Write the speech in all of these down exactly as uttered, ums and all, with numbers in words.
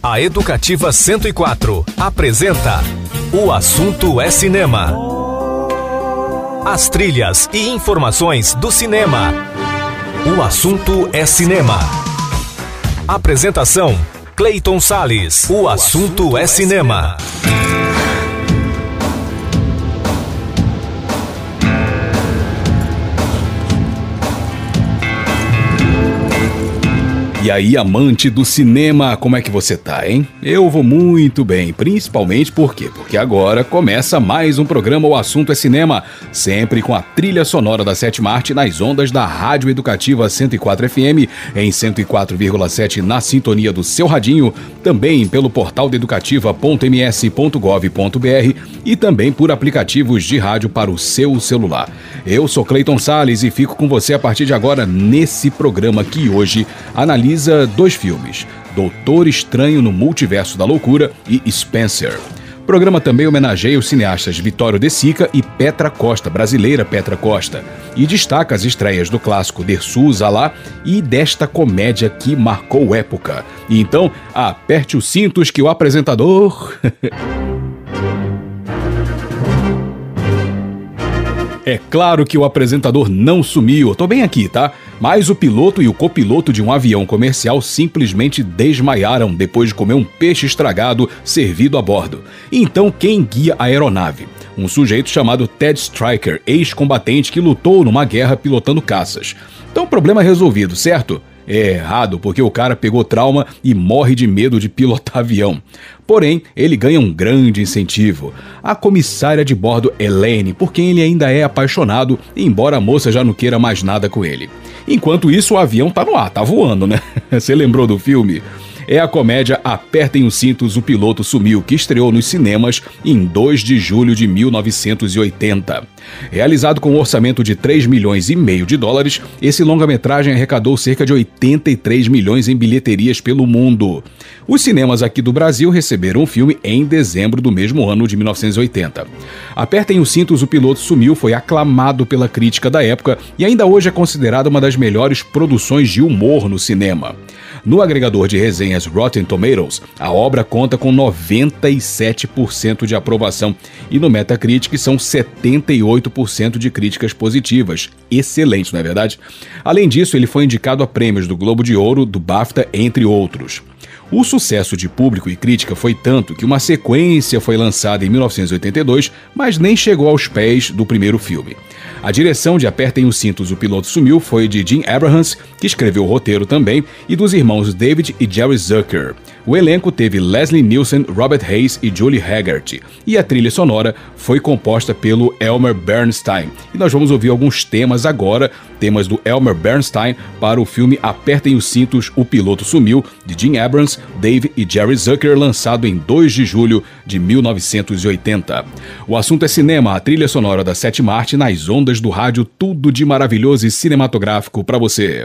A Educativa cento e quatro apresenta O Assunto é Cinema. As trilhas e informações do cinema. O Assunto é Cinema. Apresentação: Cleiton Salles. O Assunto é Cinema. E aí, amante do cinema, como é que você tá, hein? Eu vou muito bem, principalmente por quê? Porque agora começa mais um programa O Assunto é Cinema, sempre com a trilha sonora da Sétima Arte nas ondas da Rádio Educativa cento e quatro F M, em cento e quatro vírgula sete na sintonia do seu radinho, também pelo portal da educativa ponto m s ponto gov ponto b r e também por aplicativos de rádio para o seu celular. Eu sou Cleiton Salles e fico com você a partir de agora nesse programa que hoje analisa dois filmes, Doutor Estranho no Multiverso da Loucura e Spencer. O programa também homenageia os cineastas Vittorio De Sica e Petra Costa, brasileira Petra Costa, e destaca as estreias do clássico Dersu Zalá e desta comédia que marcou época. E então, aperte os cintos que o apresentador... É claro que o apresentador não sumiu, eu tô bem aqui, tá? Mas o piloto e o copiloto de um avião comercial simplesmente desmaiaram depois de comer um peixe estragado servido a bordo. Então quem guia a aeronave? Um sujeito chamado Ted Stryker, ex-combatente que lutou numa guerra pilotando caças. Então problema resolvido, certo? É errado, porque o cara pegou trauma e morre de medo de pilotar avião. Porém, ele ganha um grande incentivo. A comissária de bordo Elaine, por quem ele ainda é apaixonado, embora a moça já não queira mais nada com ele. Enquanto isso, o avião tá no ar, tá voando, né? Você lembrou do filme? É a comédia Apertem os Cintos, o Piloto Sumiu, que estreou nos cinemas em dois de julho de mil novecentos e oitenta. Realizado com um orçamento de três milhões e meio de dólares, esse longa-metragem arrecadou cerca de oitenta e três milhões em bilheterias pelo mundo. Os cinemas aqui do Brasil receberam o filme em dezembro do mesmo ano de mil novecentos e oitenta. Apertem os Cintos, o Piloto Sumiu foi aclamado pela crítica da época e ainda hoje é considerado uma das melhores produções de humor no cinema. No agregador de resenhas Rotten Tomatoes, a obra conta com noventa e sete por cento de aprovação e no Metacritic são setenta e oito por cento de críticas positivas. Excelente, não é verdade? Além disso, ele foi indicado a prêmios do Globo de Ouro, do BAFTA, entre outros. O sucesso de público e crítica foi tanto que uma sequência foi lançada em mil novecentos e oitenta e dois, mas nem chegou aos pés do primeiro filme. A direção de Apertem os Cintos, o Piloto Sumiu foi de Jim Abrahams, que escreveu o roteiro também, e dos irmãos David e Jerry Zucker. O elenco teve Leslie Nielsen, Robert Hayes e Julie Haggart, e a trilha sonora foi composta pelo Elmer Bernstein. E nós vamos ouvir alguns temas agora, temas do Elmer Bernstein para o filme Apertem os Cintos, o Piloto Sumiu, de Jim Abrahams, Dave e Jerry Zucker, lançado em dois de julho de mil novecentos e oitenta. O assunto é cinema, a trilha sonora da Sétima Arte nas ondas do rádio, tudo de maravilhoso e cinematográfico para você.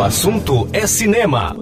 assunto é cinema.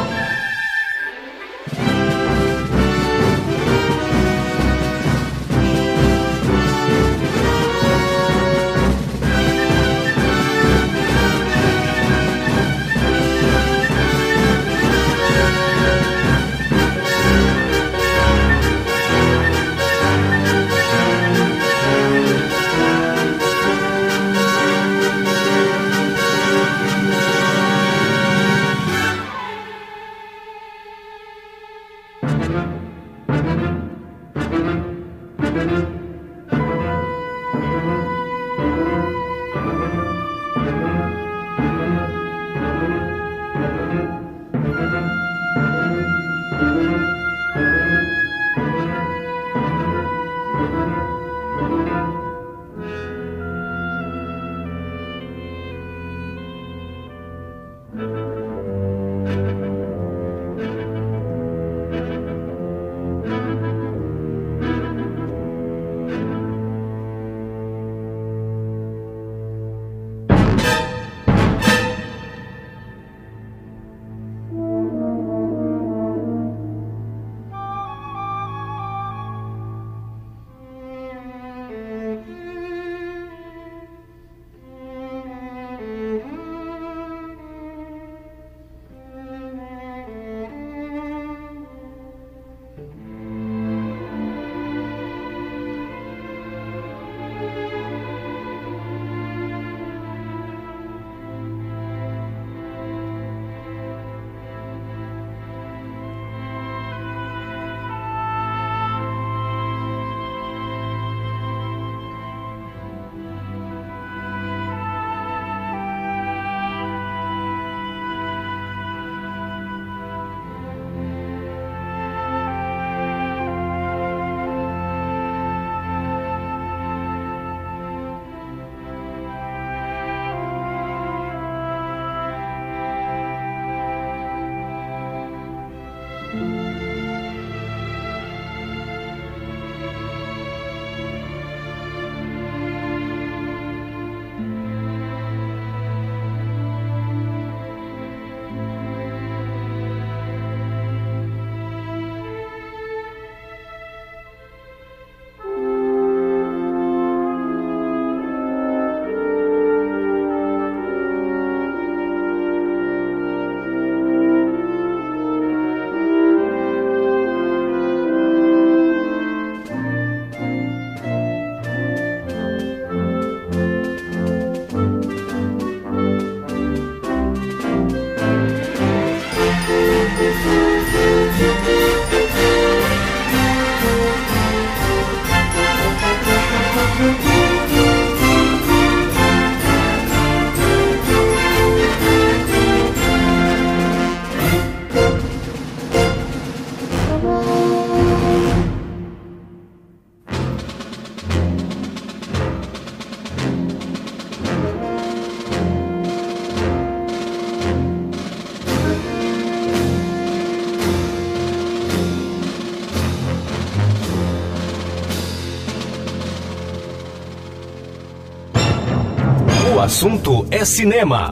O assunto é cinema.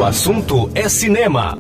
assunto é cinema.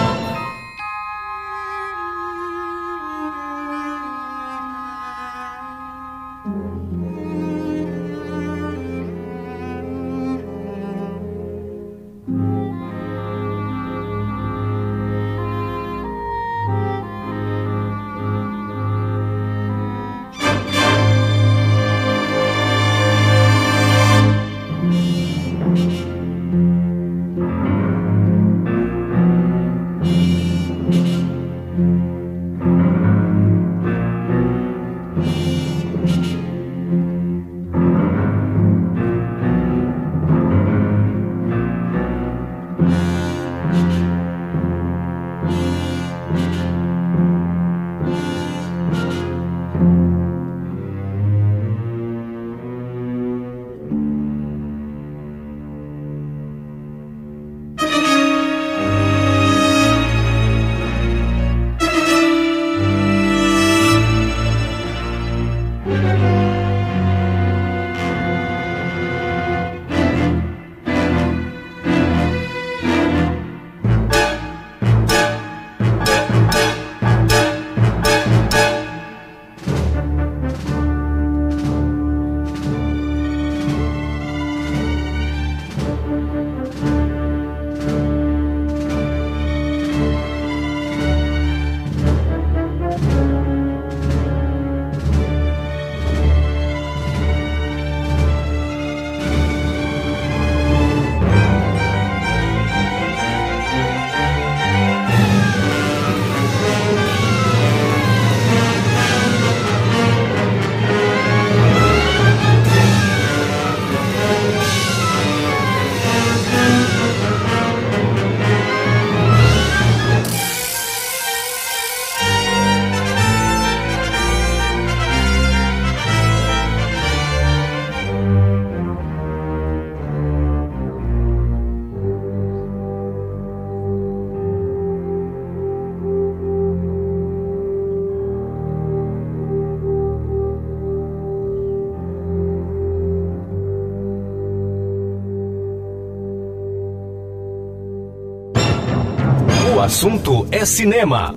O assunto é cinema.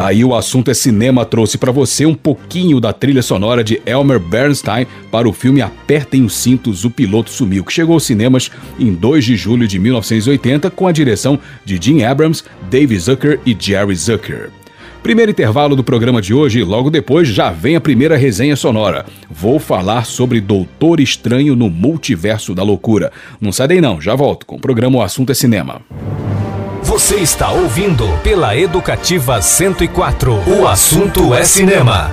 Aí o Assunto é Cinema trouxe para você um pouquinho da trilha sonora de Elmer Bernstein para o filme Apertem os Cintos, o Piloto Sumiu, que chegou aos cinemas em dois de julho de mil novecentos e oitenta com a direção de Jim Abrams, Dave Zucker e Jerry Zucker. Primeiro intervalo do programa de hoje, logo depois já vem a primeira resenha sonora. Vou falar sobre Doutor Estranho no Multiverso da Loucura. Não sai daí não, já volto com o programa O Assunto é Cinema. Você está ouvindo pela Educativa cento e quatro. O Assunto é Cinema.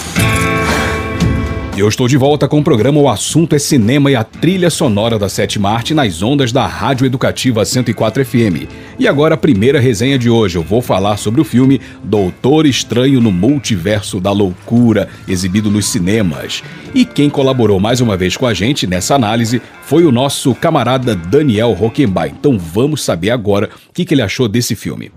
Eu estou de volta com o programa O Assunto é Cinema e a trilha sonora da sétima arte nas ondas da Rádio Educativa cento e quatro F M. E agora a primeira resenha de hoje. Eu vou falar sobre o filme Doutor Estranho no Multiverso da Loucura, exibido nos cinemas. E quem colaborou mais uma vez com a gente nessa análise foi o nosso camarada Daniel Rockenbach. Então vamos saber agora o que, que ele achou desse filme.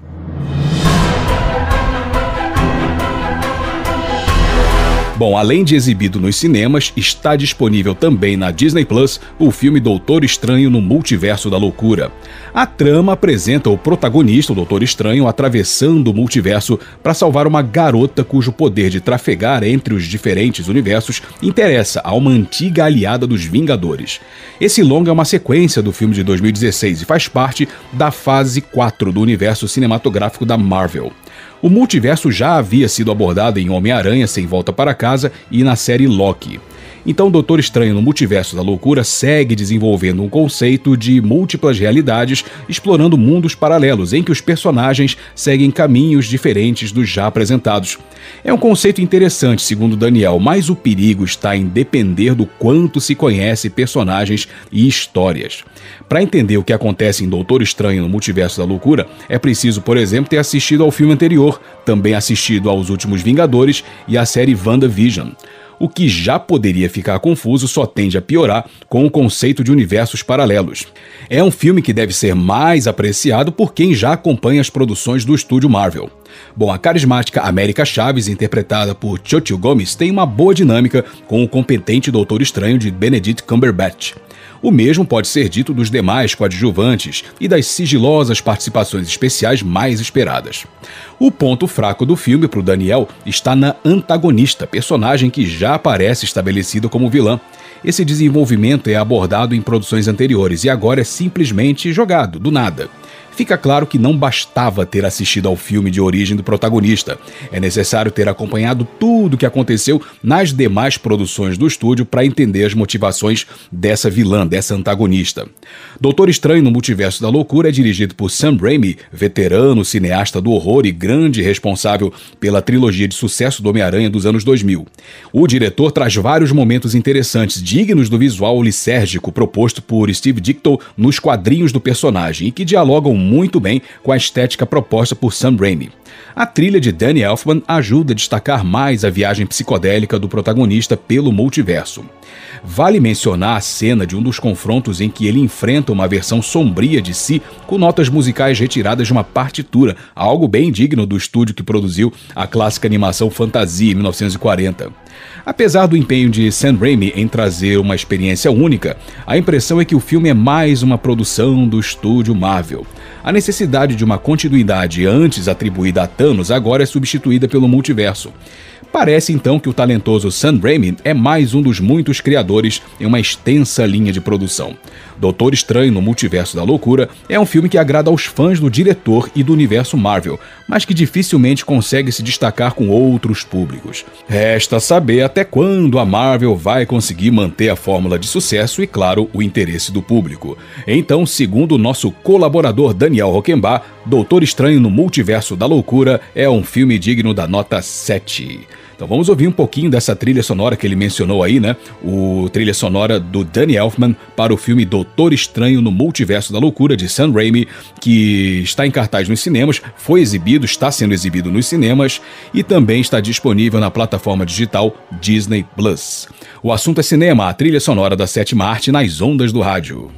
Bom, além de exibido nos cinemas, está disponível também na Disney Plus o filme Doutor Estranho no Multiverso da Loucura. A trama apresenta o protagonista, o Doutor Estranho, atravessando o multiverso para salvar uma garota cujo poder de trafegar entre os diferentes universos interessa a uma antiga aliada dos Vingadores. Esse longa é uma sequência do filme de dois mil e dezesseis e faz parte da fase quatro do universo cinematográfico da Marvel. O multiverso já havia sido abordado em Homem-Aranha Sem Volta para Casa e na série Loki. Então, Doutor Estranho no Multiverso da Loucura segue desenvolvendo um conceito de múltiplas realidades, explorando mundos paralelos em que os personagens seguem caminhos diferentes dos já apresentados. É um conceito interessante, segundo Daniel, mas o perigo está em depender do quanto se conhece personagens e histórias. Para entender o que acontece em Doutor Estranho no Multiverso da Loucura, é preciso, por exemplo, ter assistido ao filme anterior, também assistido aos Últimos Vingadores e à série WandaVision. O que já poderia ficar confuso só tende a piorar com o conceito de universos paralelos. É um filme que deve ser mais apreciado por quem já acompanha as produções do estúdio Marvel. Bom, a carismática América Chaves, interpretada por Xochitl Gomez, tem uma boa dinâmica com o competente Doutor Estranho de Benedict Cumberbatch. O mesmo pode ser dito dos demais coadjuvantes e das sigilosas participações especiais mais esperadas. O ponto fraco do filme para o Daniel está na antagonista, personagem que já aparece estabelecida como vilã. Esse desenvolvimento é abordado em produções anteriores e agora é simplesmente jogado, do nada. Fica claro que não bastava ter assistido ao filme de origem do protagonista. É necessário ter acompanhado tudo o que aconteceu nas demais produções do estúdio para entender as motivações dessa vilã, dessa antagonista. Doutor Estranho no Multiverso da Loucura é dirigido por Sam Raimi, veterano cineasta do horror e grande responsável pela trilogia de sucesso do Homem-Aranha dos anos dois mil. O diretor traz vários momentos interessantes, dignos do visual lisérgico proposto por Steve Ditko nos quadrinhos do personagem e que dialogam muito bem com a estética proposta por Sam Raimi. A trilha de Danny Elfman ajuda a destacar mais a viagem psicodélica do protagonista pelo multiverso. Vale mencionar a cena de um dos confrontos em que ele enfrenta uma versão sombria de si com notas musicais retiradas de uma partitura, algo bem digno do estúdio que produziu a clássica animação Fantasia em mil novecentos e quarenta. Apesar do empenho de Sam Raimi em trazer uma experiência única, a impressão é que o filme é mais uma produção do estúdio Marvel. A necessidade de uma continuidade antes atribuída a Thanos agora é substituída pelo multiverso. Parece então que o talentoso Sam Raimi é mais um dos muitos criadores em uma extensa linha de produção. Doutor Estranho no Multiverso da Loucura é um filme que agrada aos fãs do diretor e do universo Marvel, mas que dificilmente consegue se destacar com outros públicos. Resta saber até quando a Marvel vai conseguir manter a fórmula de sucesso e, claro, o interesse do público. Então, segundo o nosso colaborador Daniel Rockenbach, Doutor Estranho no Multiverso da Loucura é um filme digno da nota sete. Então vamos ouvir um pouquinho dessa trilha sonora que ele mencionou aí, né? O trilha sonora do Danny Elfman para o filme Doutor Estranho no Multiverso da Loucura, de Sam Raimi, que está em cartaz nos cinemas, foi exibido, está sendo exibido nos cinemas e também está disponível na plataforma digital Disney Plus. O Assunto é Cinema, a trilha sonora da sétima arte nas ondas do rádio.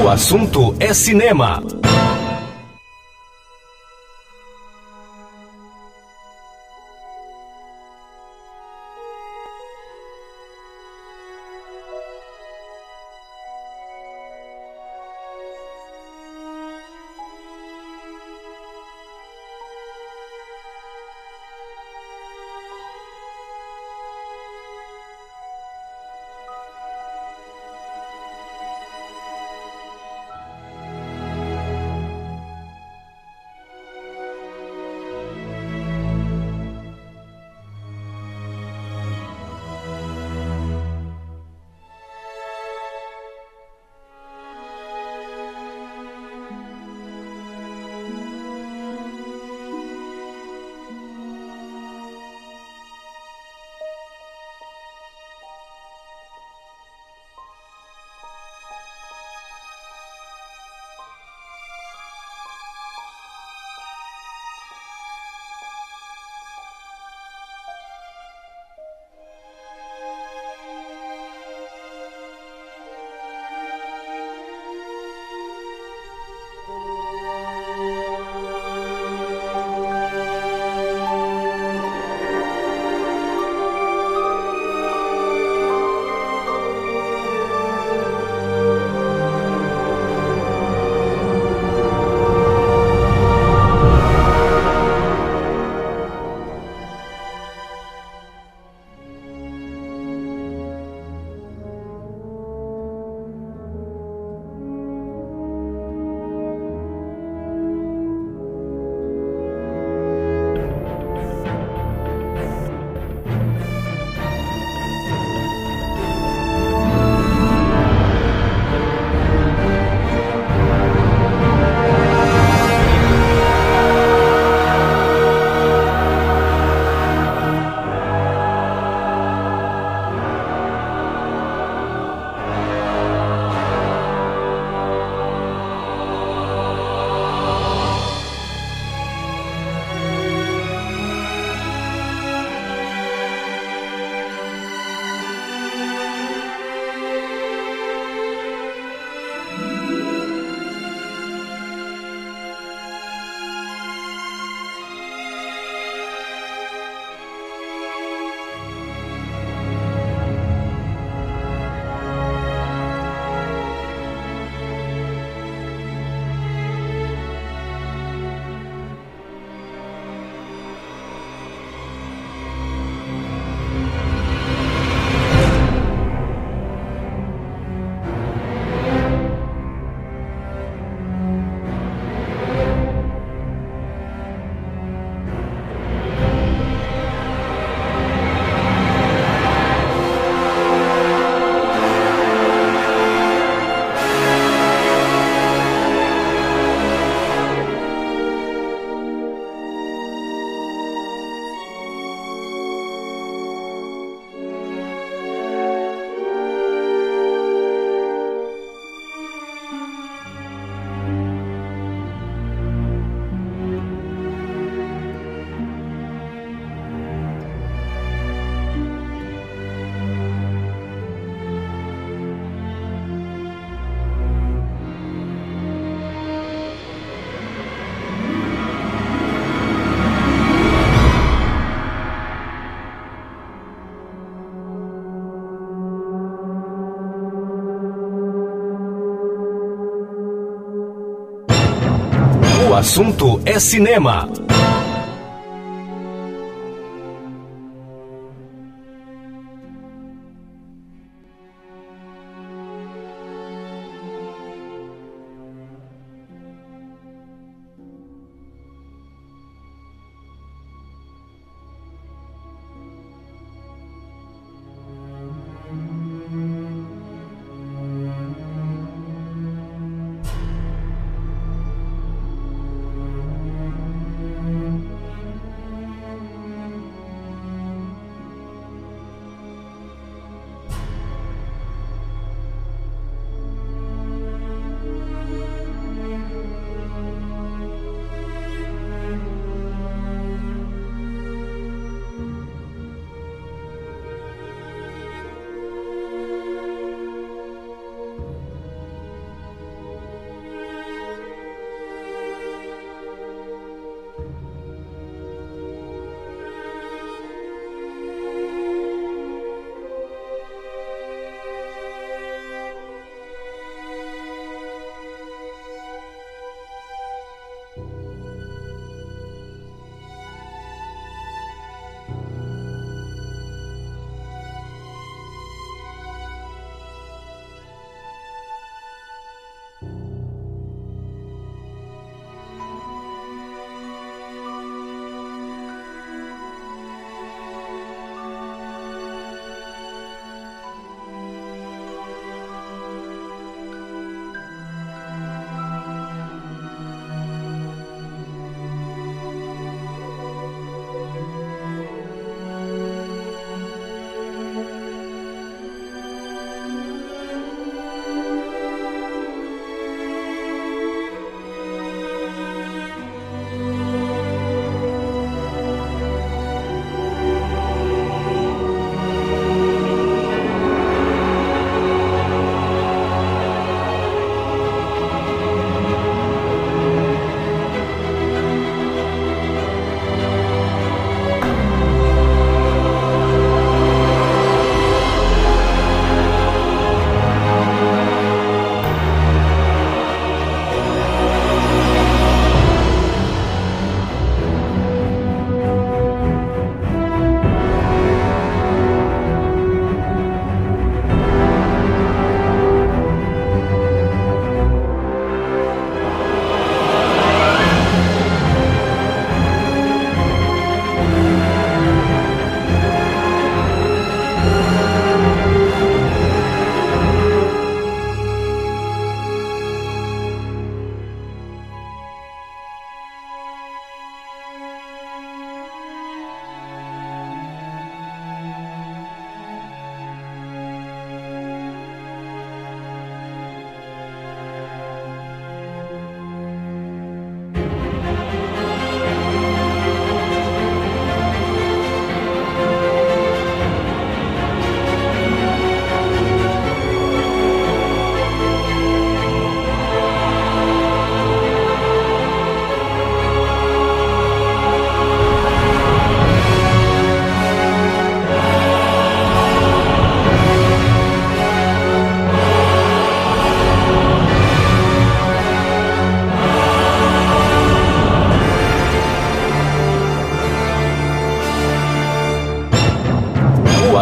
O assunto é cinema. O assunto é cinema.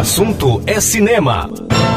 assunto é cinema.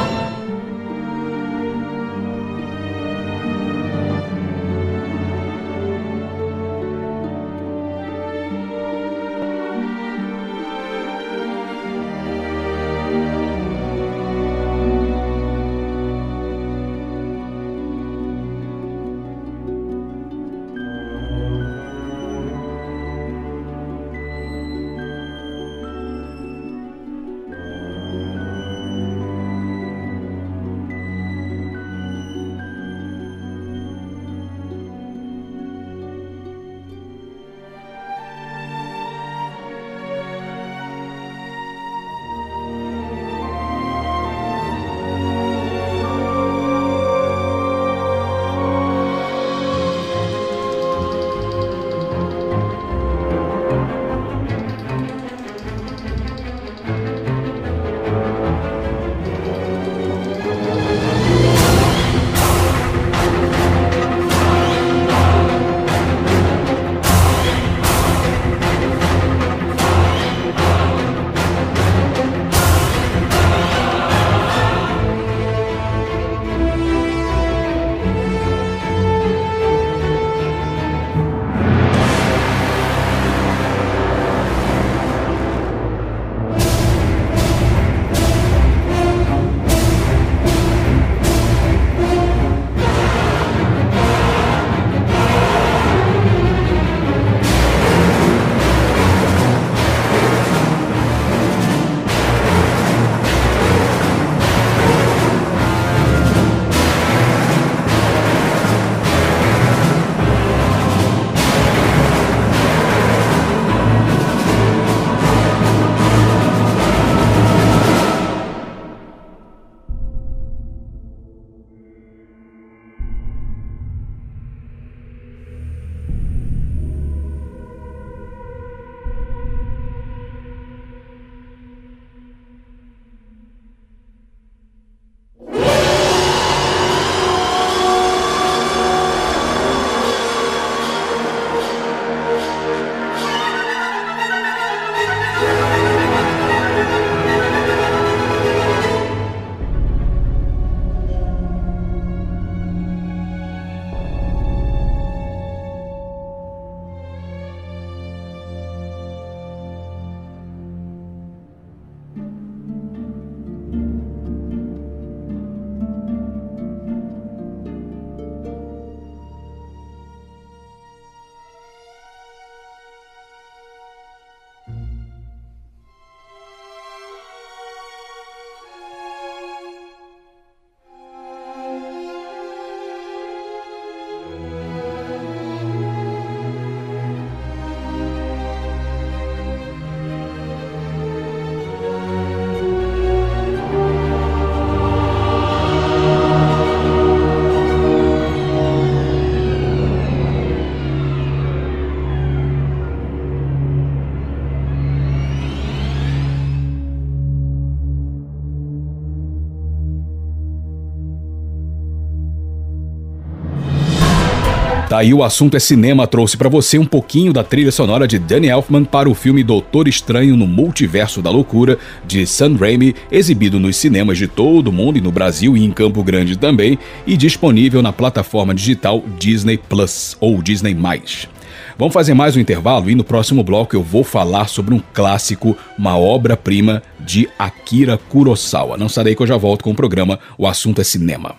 Tá aí, o assunto é cinema, trouxe pra você um pouquinho da trilha sonora de Danny Elfman para o filme Doutor Estranho no Multiverso da Loucura, de Sam Raimi, exibido nos cinemas de todo o mundo e no Brasil e em Campo Grande também, e disponível na plataforma digital Disney Plus ou Disney mais. Vamos fazer mais um intervalo e no próximo bloco eu vou falar sobre um clássico, uma obra-prima de Akira Kurosawa. Não sai daí que eu já volto com o programa O Assunto é Cinema.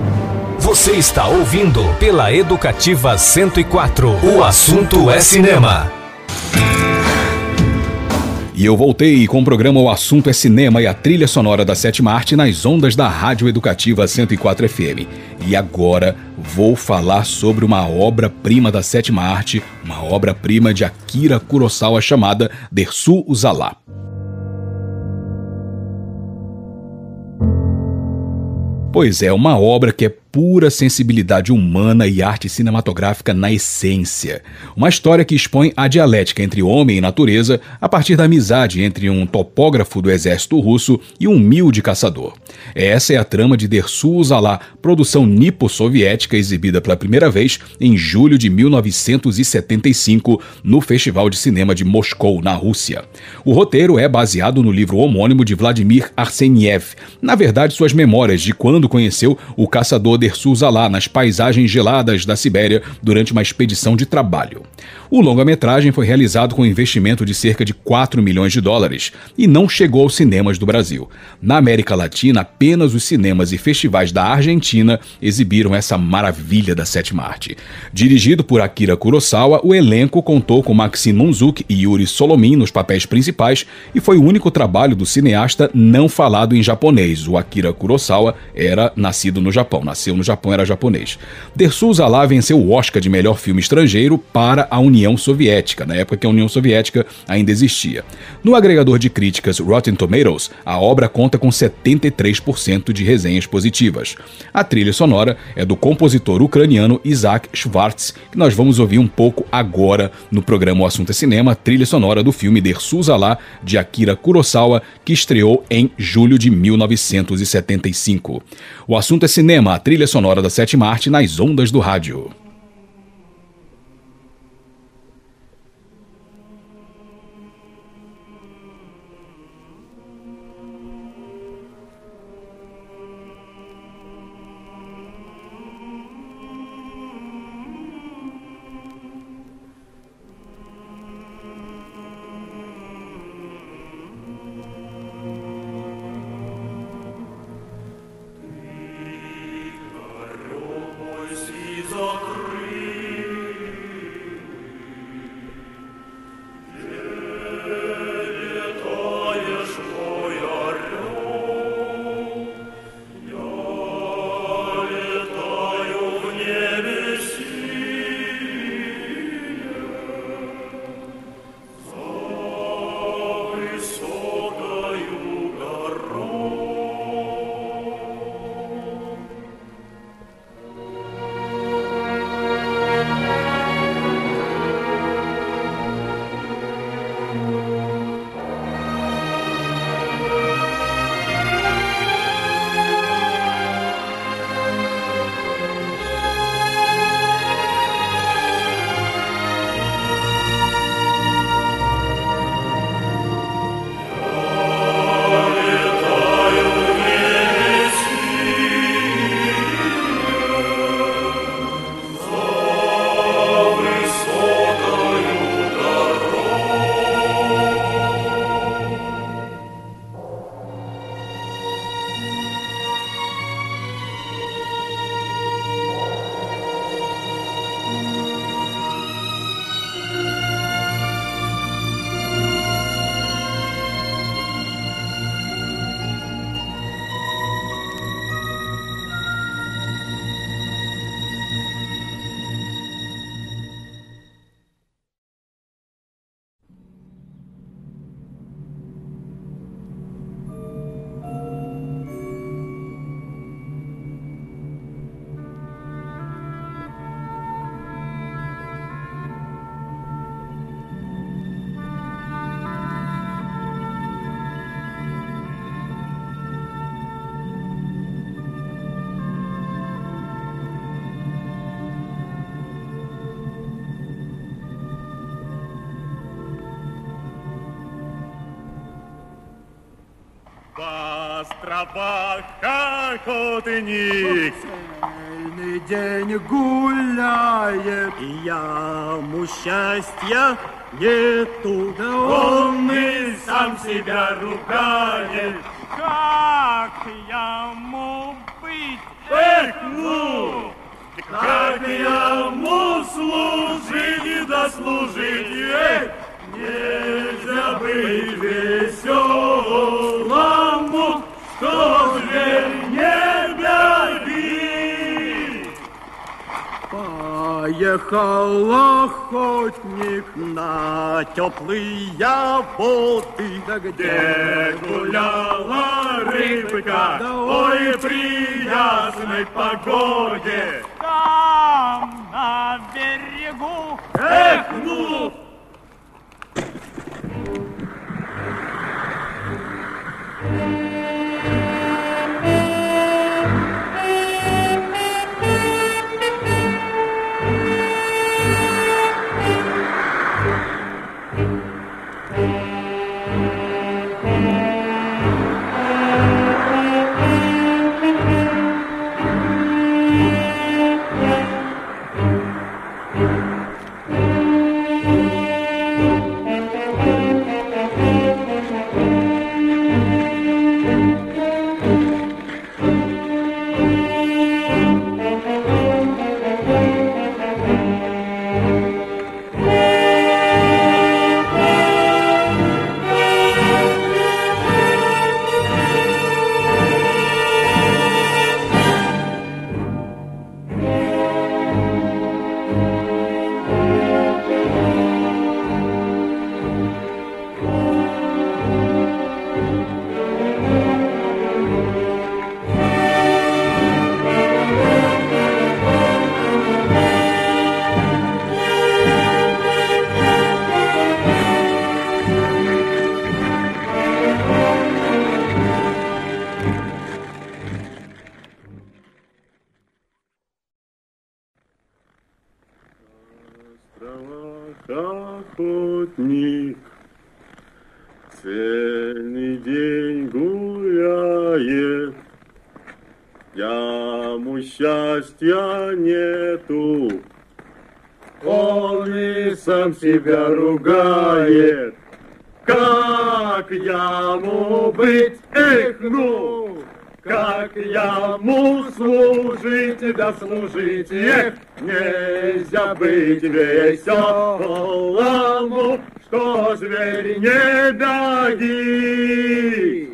Você está ouvindo pela Educativa cento e quatro. O assunto é cinema. E eu voltei com o programa O Assunto é Cinema e a trilha sonora da sétima arte nas ondas da Rádio Educativa cento e quatro F M. E agora vou falar sobre uma obra-prima da sétima arte, uma obra-prima de Akira Kurosawa chamada Dersu Uzala. Pois é, uma obra que é pura sensibilidade humana e arte cinematográfica na essência. Uma história que expõe a dialética entre homem e natureza a partir da amizade entre um topógrafo do exército russo e um humilde caçador. Essa é a trama de Dersu Uzala, produção nipo-soviética exibida pela primeira vez em julho de mil novecentos e setenta e cinco no Festival de Cinema de Moscou, na Rússia. O roteiro é baseado no livro homônimo de Vladimir Arseniev, na verdade suas memórias de quando conheceu o caçador Dersu Uzala nas paisagens geladas da Sibéria durante uma expedição de trabalho. O longa-metragem foi realizado com um investimento de cerca de quatro milhões de dólares e não chegou aos cinemas do Brasil. Na América Latina, apenas os cinemas e festivais da Argentina exibiram essa maravilha da sétima arte. Dirigido por Akira Kurosawa, o elenco contou com Maxim Monzuk e Yuri Solomin nos papéis principais e foi o único trabalho do cineasta não falado em japonês. O Akira Kurosawa era nascido no Japão, nasceu no Japão, era japonês. Dersu Uzala venceu o Oscar de melhor filme estrangeiro para a União Soviética, na época que a União Soviética ainda existia. No agregador de críticas Rotten Tomatoes, a obra conta com setenta e três por cento de resenhas positivas. A trilha sonora é do compositor ucraniano Isaac Schwartz, que nós vamos ouvir um pouco agora no programa O Assunto é Cinema, trilha sonora do filme Dersu Uzala, de Akira Kurosawa, que estreou em julho de mil novecentos e setenta e cinco. O Assunto é Cinema, a trilha sonora da sétima arte nas ondas do rádio. островах охотник. Цельный день гуляет, и яму счастья нету, да он и сам себя ругает. как ему быть? Эх, ну, как ему служить и дослужить, эх, нельзя быть веселому, что зверь не беги. Поехал охотник на теплые воды. Да где гуляла рыбка, да ой, при ясной погоде. Там, на берегу. Эх, ну! Охотник цельный день гуляет, яму счастья нету, он и сам себя ругает. Как яму быть, эх, ну! Как яму служить, да служить, эх, нельзя быть веселому, что зверь не даги.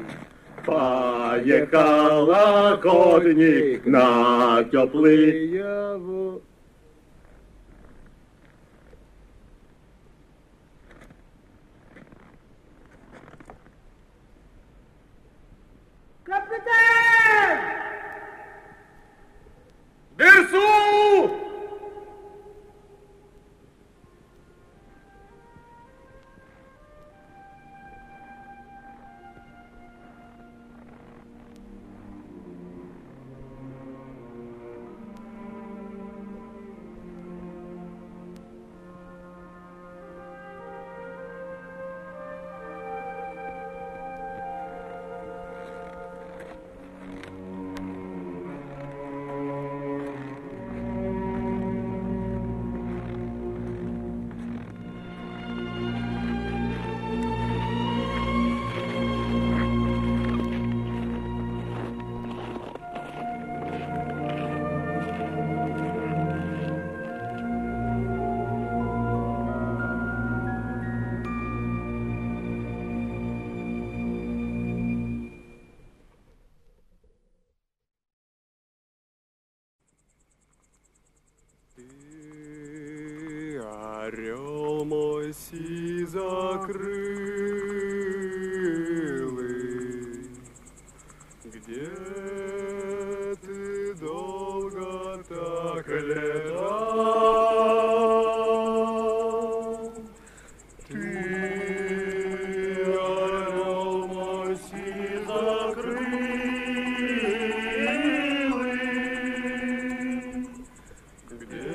Поехал охотник на теплые воды. Капитан! Дерсу! Орел мой сизокрылый, где ты долго так летал? Ты, орел мой сизокрылый, где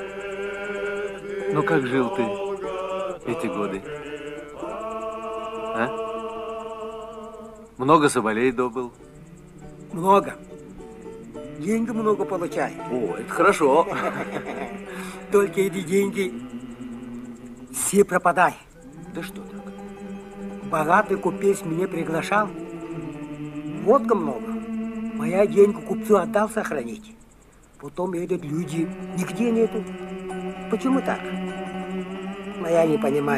Ну как жил ты эти годы? А? Много соболей добыл? Много. Деньги много получаю. О, это хорошо. Только эти деньги все пропадают. Да что так? Богатый купец меня приглашал. Водка много. Моя деньги купцу отдал сохранить. Потом этот люди нигде нету. Почему так? Но я не понимаю.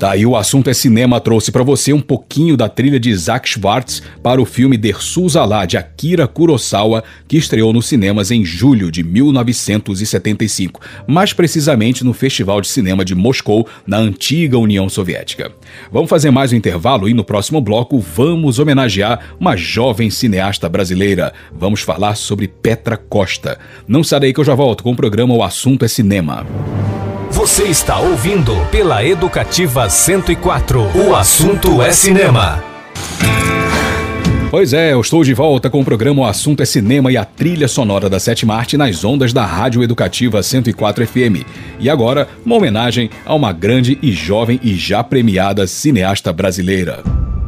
volta e o assunto é cinema trouxe para você um pouquinho da trilha de Isaac Schwartz para o filme Dersu-Zala, de Akira Kurosawa, que estreou nos cinemas em julho de mil novecentos e setenta e cinco, mais precisamente no Festival de Cinema de Moscou, na antiga União Soviética. Vamos fazer mais um intervalo e no próximo bloco vamos homenagear uma jovem cineasta brasileira. Vamos falar sobre Petra Costa. Não sai daí que eu já volto com o programa O Assunto é Cinema. Você está ouvindo pela Educativa cento e quatro. O assunto é cinema. Pois é, eu estou de volta com o programa O Assunto é Cinema e a trilha sonora da sétima arte nas ondas da Rádio Educativa cento e quatro F M. E agora, uma homenagem a uma grande e jovem e já premiada cineasta brasileira.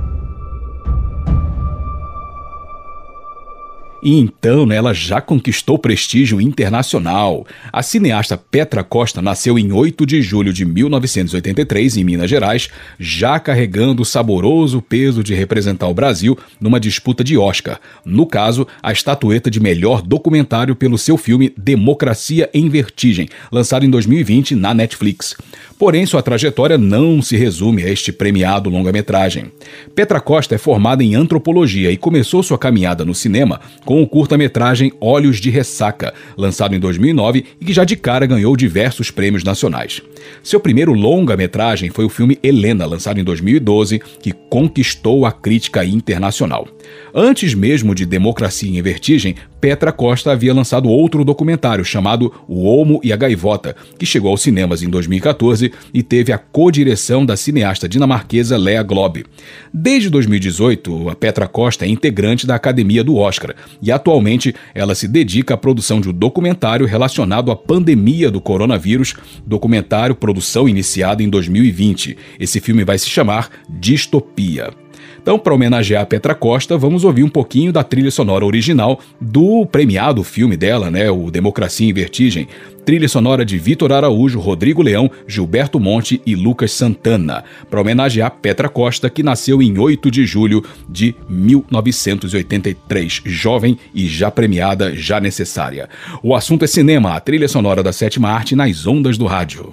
E então, né, ela já conquistou prestígio internacional. A cineasta Petra Costa nasceu em oito de julho de mil novecentos e oitenta e três, em Minas Gerais, já carregando o saboroso peso de representar o Brasil numa disputa de Oscar. No caso, a estatueta de melhor documentário pelo seu filme Democracia em Vertigem, lançado em dois mil e vinte na Netflix. Porém, sua trajetória não se resume a este premiado longa-metragem. Petra Costa é formada em antropologia e começou sua caminhada no cinema com o curta-metragem Olhos de Ressaca, lançado em dois mil e nove e que já de cara ganhou diversos prêmios nacionais. Seu primeiro longa-metragem foi o filme Helena, lançado em dois mil e doze, que conquistou a crítica internacional. Antes mesmo de Democracia em Vertigem, Petra Costa havia lançado outro documentário chamado O Olmo e a Gaivota, que chegou aos cinemas em dois mil e quatorze e teve a co-direção da cineasta dinamarquesa Lea Globe. Desde dois mil e dezoito, a Petra Costa é integrante da Academia do Oscar e atualmente ela se dedica à produção de um documentário relacionado à pandemia do coronavírus, documentário produção iniciada em dois mil e vinte. Esse filme vai se chamar Distopia. Então, para homenagear a Petra Costa, vamos ouvir um pouquinho da trilha sonora original do premiado filme dela, né, o Democracia em Vertigem. Trilha sonora de Vitor Araújo, Rodrigo Leão, Gilberto Monte e Lucas Santana, para homenagear Petra Costa, que nasceu em oito de julho de mil novecentos e oitenta e três, jovem e já premiada, já necessária. O assunto é cinema, a trilha sonora da sétima arte nas ondas do rádio.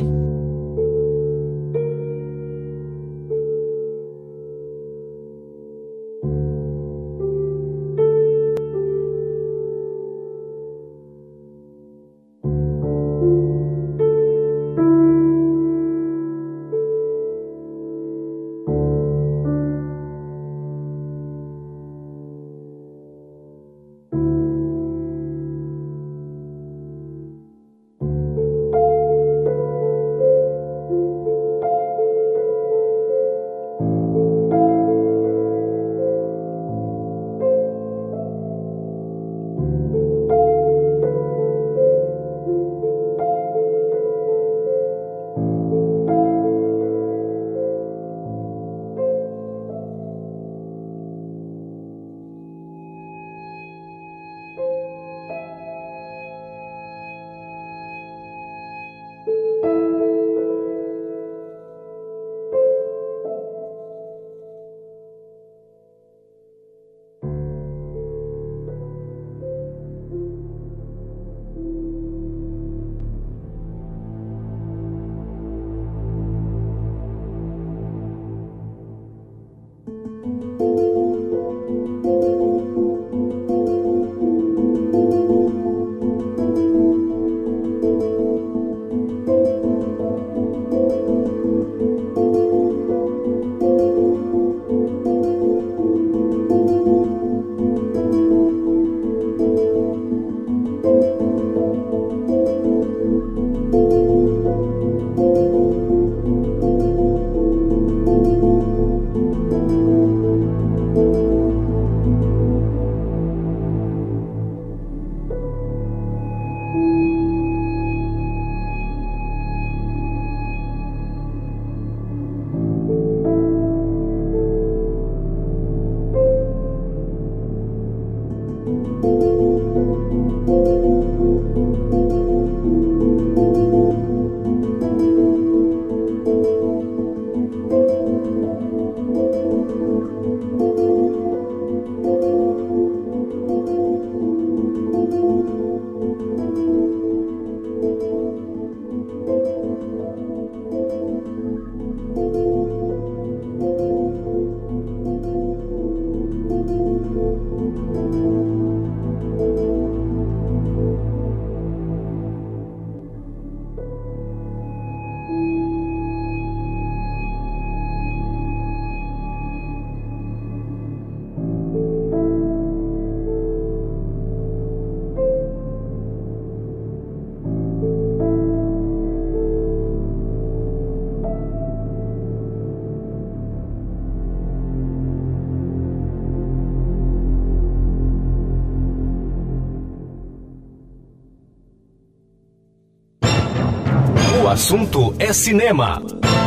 assunto é cinema.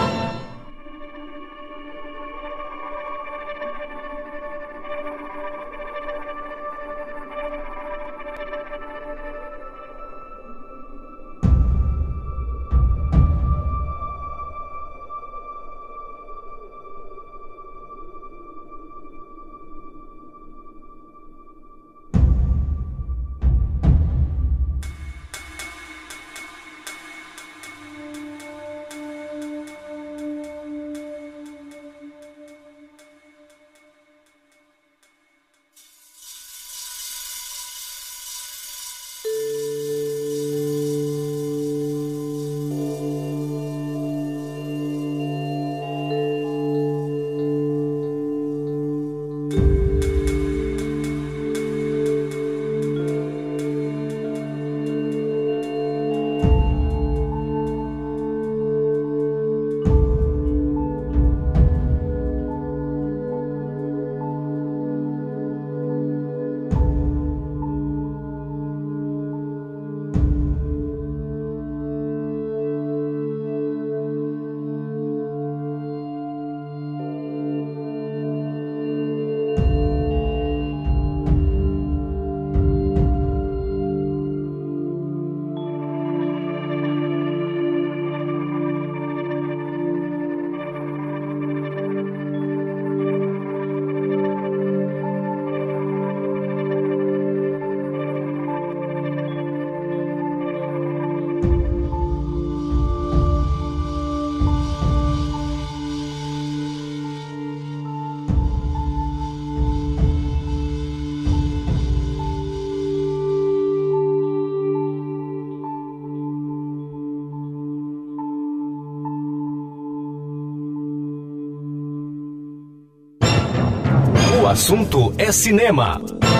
O assunto é cinema.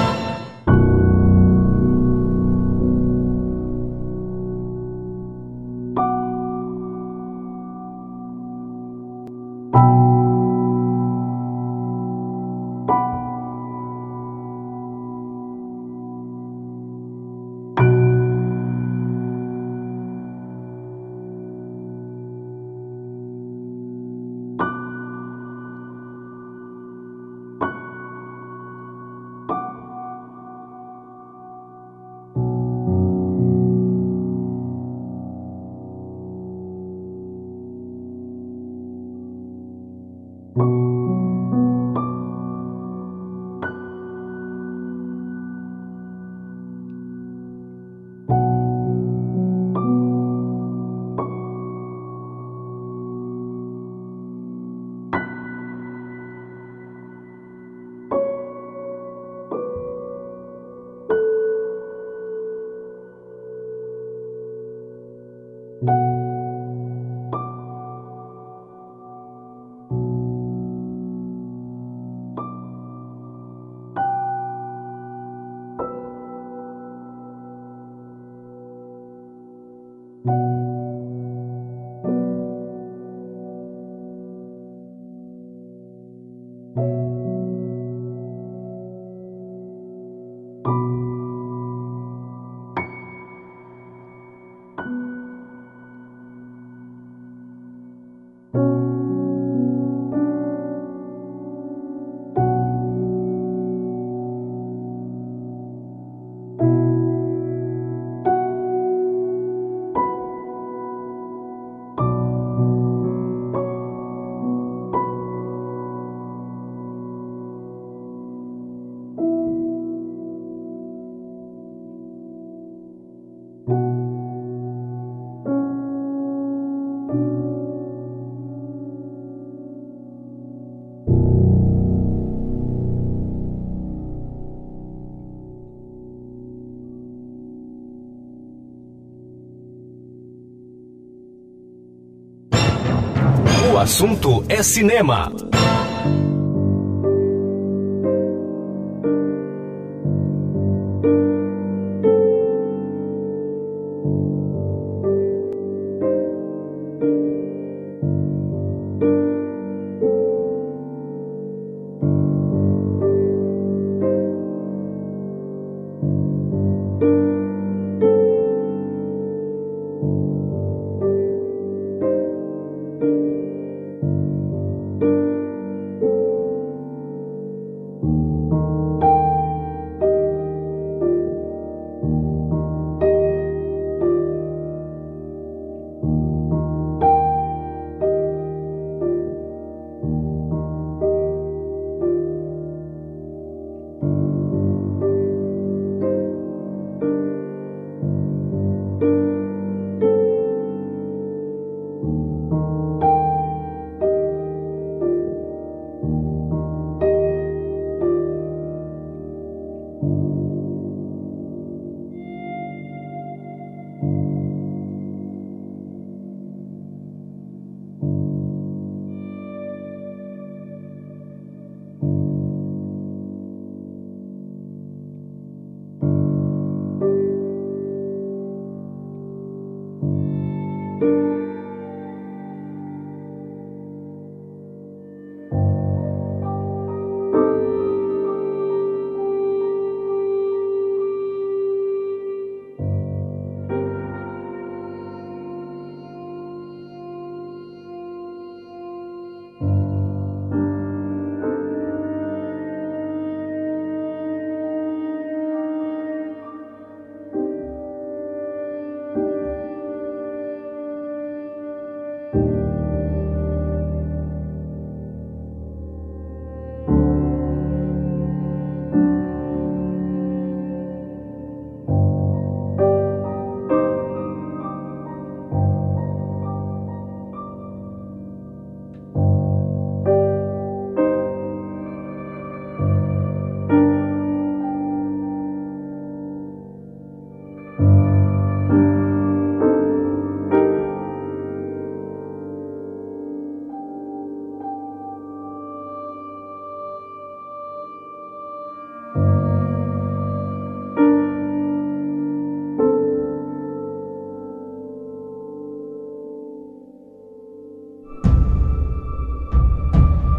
O assunto é cinema.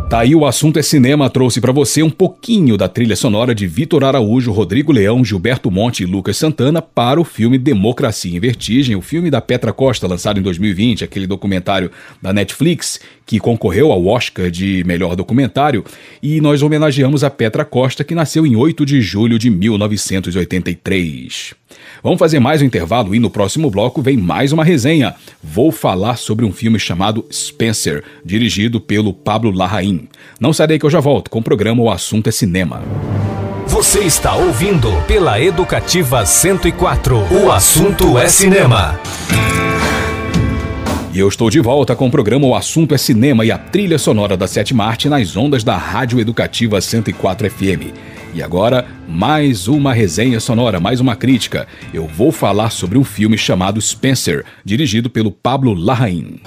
Tá aí o Assunto é Cinema, trouxe pra você um pouquinho da trilha sonora de Vitor Araújo, Rodrigo Leão, Gilberto Monte e Lucas Santana para o filme Democracia em Vertigem, o filme da Petra Costa, lançado em dois mil e vinte, aquele documentário da Netflix que concorreu ao Oscar de melhor documentário, e nós homenageamos a Petra Costa, que nasceu em oito de julho de mil novecentos e oitenta e três. Vamos fazer mais um intervalo e no próximo bloco vem mais uma resenha. Vou falar sobre um filme chamado Spencer, dirigido pelo Pablo Larraín. Não sai daí que eu já volto com o programa O Assunto é Cinema. Você está ouvindo pela Educativa cento e quatro. O Assunto é Cinema. E eu estou de volta com o programa O Assunto é Cinema e a trilha sonora da Sétima Arte nas ondas da Rádio Educativa cento e quatro F M. E agora, mais uma resenha sonora, mais uma crítica. Eu vou falar sobre um filme chamado Spencer, dirigido pelo Pablo Larraín.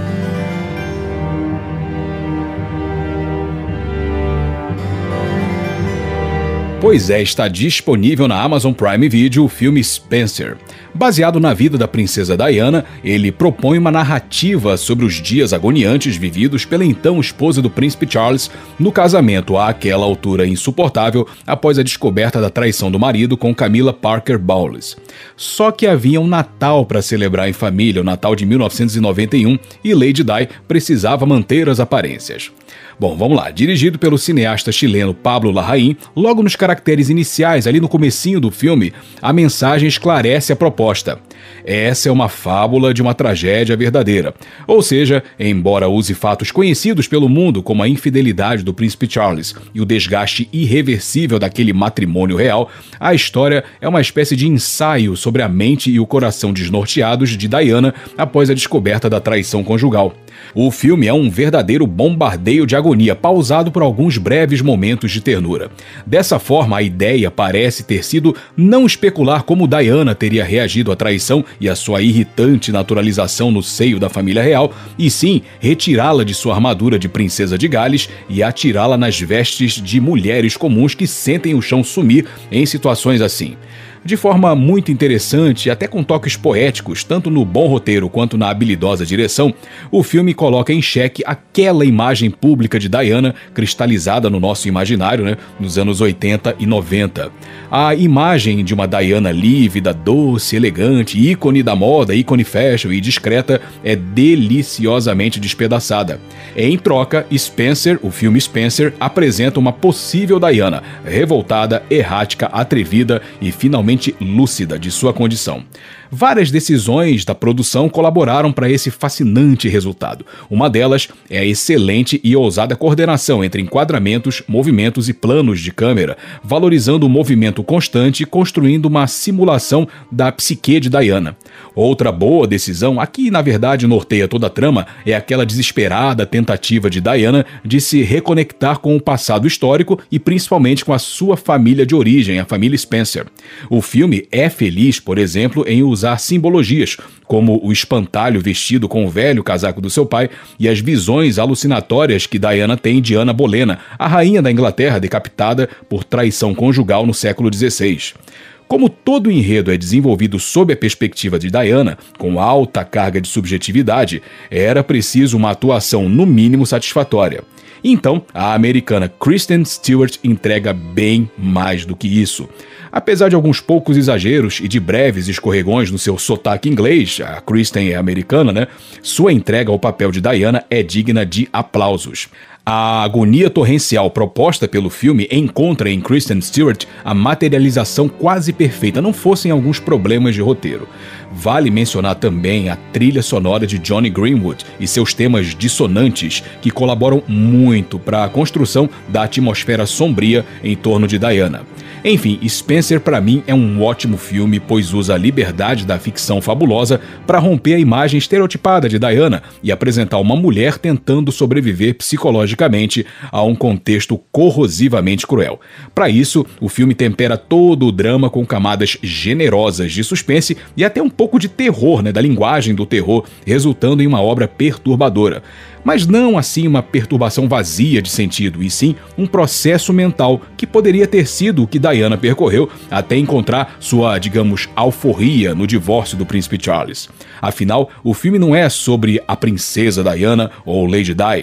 Pois é, está disponível na Amazon Prime Video o filme Spencer. Baseado na vida da princesa Diana, ele propõe uma narrativa sobre os dias agoniantes vividos pela então esposa do príncipe Charles no casamento àquela altura insuportável após a descoberta da traição do marido com Camilla Parker Bowles. Só que havia um Natal para celebrar em família, o Natal de mil novecentos e noventa e um, e Lady Di precisava manter as aparências. Bom, vamos lá. Dirigido pelo cineasta chileno Pablo Larraín, logo nos caracteres iniciais, ali no comecinho do filme, a mensagem esclarece a proposta. Essa é uma fábula de uma tragédia verdadeira. Ou seja, embora use fatos conhecidos pelo mundo como a infidelidade do príncipe Charles e o desgaste irreversível daquele matrimônio real, a história é uma espécie de ensaio sobre a mente e o coração desnorteados de Diana após a descoberta da traição conjugal. O filme é um verdadeiro bombardeio de agonia, pausado por alguns breves momentos de ternura. Dessa forma, a ideia parece ter sido não especular como Diana teria reagido à traição e à sua irritante naturalização no seio da família real, e sim retirá-la de sua armadura de princesa de Gales e atirá-la nas vestes de mulheres comuns que sentem o chão sumir em situações assim. De forma muito interessante, até com toques poéticos, tanto no bom roteiro quanto na habilidosa direção, o filme coloca em xeque aquela imagem pública de Diana cristalizada no nosso imaginário, né, nos anos oitenta e noventa. A imagem de uma Diana lívida, doce, elegante, ícone da moda, ícone fashion e discreta é deliciosamente despedaçada. Em troca, Spencer, o filme Spencer, apresenta uma possível Diana, revoltada, errática, atrevida e finalmente lúcida de sua condição. Várias decisões da produção colaboraram para esse fascinante resultado. Uma delas é a excelente e ousada coordenação entre enquadramentos, movimentos e planos de câmera, valorizando o movimento constante e construindo uma simulação da psique de Diana. Outra boa decisão, aqui na verdade norteia toda a trama, é aquela desesperada tentativa de Diana de se reconectar com o passado histórico e principalmente com a sua família de origem, a família Spencer. O filme é feliz, por exemplo, em usar simbologias, como o espantalho vestido com o velho casaco do seu pai e as visões alucinatórias que Diana tem de Ana Bolena, a rainha da Inglaterra decapitada por traição conjugal no século dezesseis. Como todo o enredo é desenvolvido sob a perspectiva de Diana, com alta carga de subjetividade, era preciso uma atuação no mínimo satisfatória. Então, a americana Kristen Stewart entrega bem mais do que isso. Apesar de alguns poucos exageros e de breves escorregões no seu sotaque inglês, a Kristen é americana, né? Sua entrega ao papel de Diana é digna de aplausos. A agonia torrencial proposta pelo filme encontra em Kristen Stewart a materialização quase perfeita, não fossem alguns problemas de roteiro. Vale mencionar também a trilha sonora de Jonny Greenwood e seus temas dissonantes, que colaboram muito para a construção da atmosfera sombria em torno de Diana. Enfim, Spencer para mim é um ótimo filme, pois usa a liberdade da ficção fabulosa para romper a imagem estereotipada de Diana e apresentar uma mulher tentando sobreviver psicologicamente a um contexto corrosivamente cruel. Para isso, o filme tempera todo o drama com camadas generosas de suspense e até um pouco de terror, né, da linguagem do terror, resultando em uma obra perturbadora. Mas não assim uma perturbação vazia de sentido, e sim um processo mental que poderia ter sido o que Diana percorreu até encontrar sua, digamos, alforria no divórcio do príncipe Charles. Afinal, o filme não é sobre a princesa Diana ou Lady Di.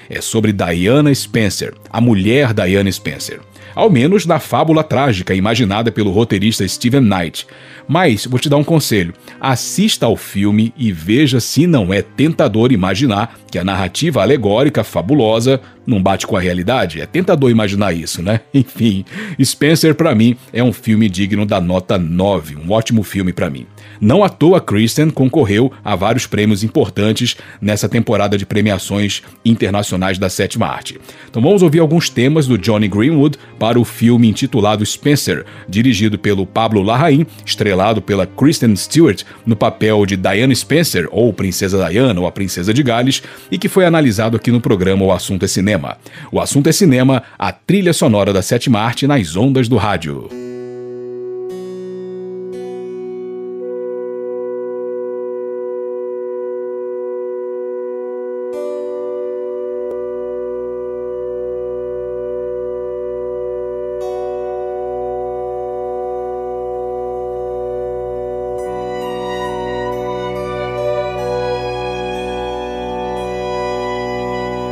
É sobre Diana Spencer, a mulher Diana Spencer. Ao menos na fábula trágica imaginada pelo roteirista Steven Knight. Mas, vou te dar um conselho, assista ao filme e veja se não é tentador imaginar que a narrativa alegórica fabulosa não bate com a realidade. É tentador imaginar isso, né? Enfim, Spencer pra mim é um filme digno da nota nove, um ótimo filme pra mim. Não à toa Kristen concorreu a vários prêmios importantes nessa temporada de premiações internacionais da sétima arte. Então vamos ouvir alguns temas do Jonny Greenwood para o filme intitulado Spencer, dirigido pelo Pablo Larraín, estrelado pela Kristen Stewart no papel de Diana Spencer, ou Princesa Diana, ou a Princesa de Gales, e que foi analisado aqui no programa O Assunto é Cinema. O Assunto é Cinema, a trilha sonora da sétima arte nas ondas do rádio.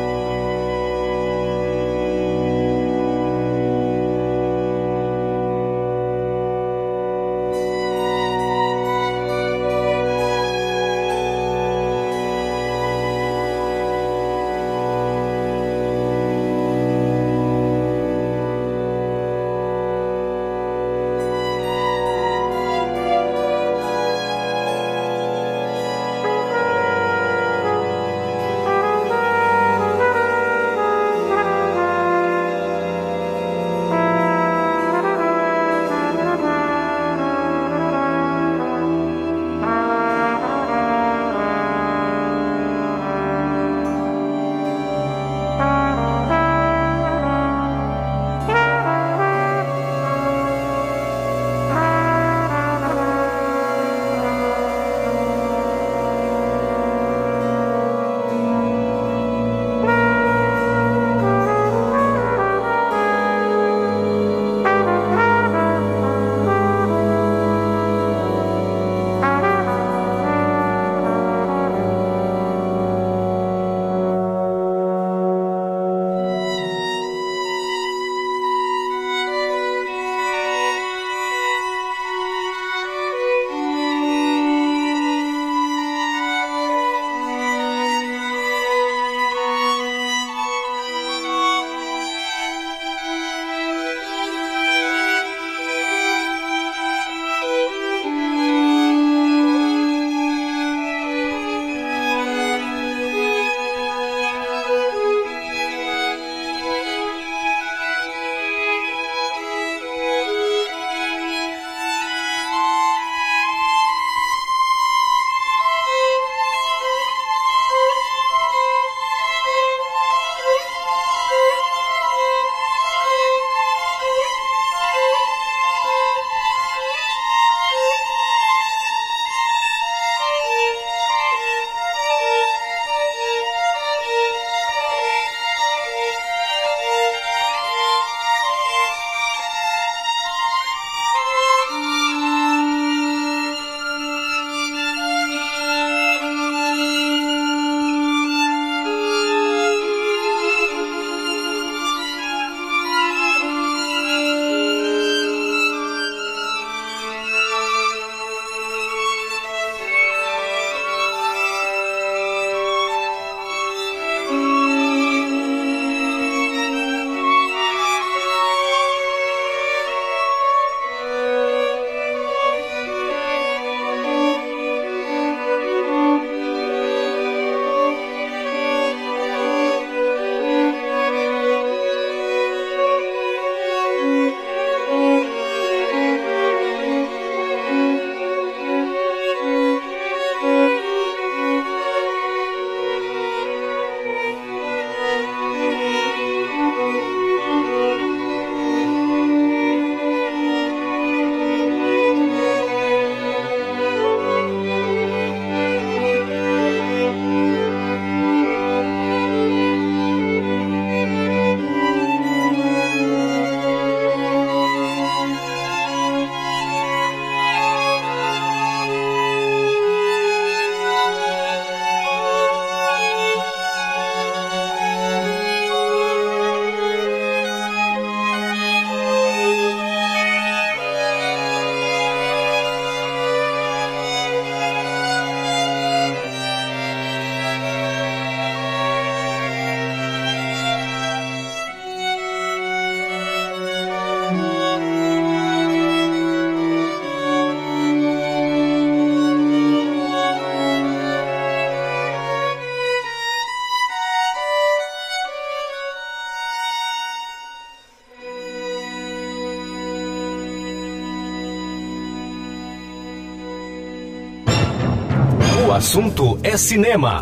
Thank assunto é cinema.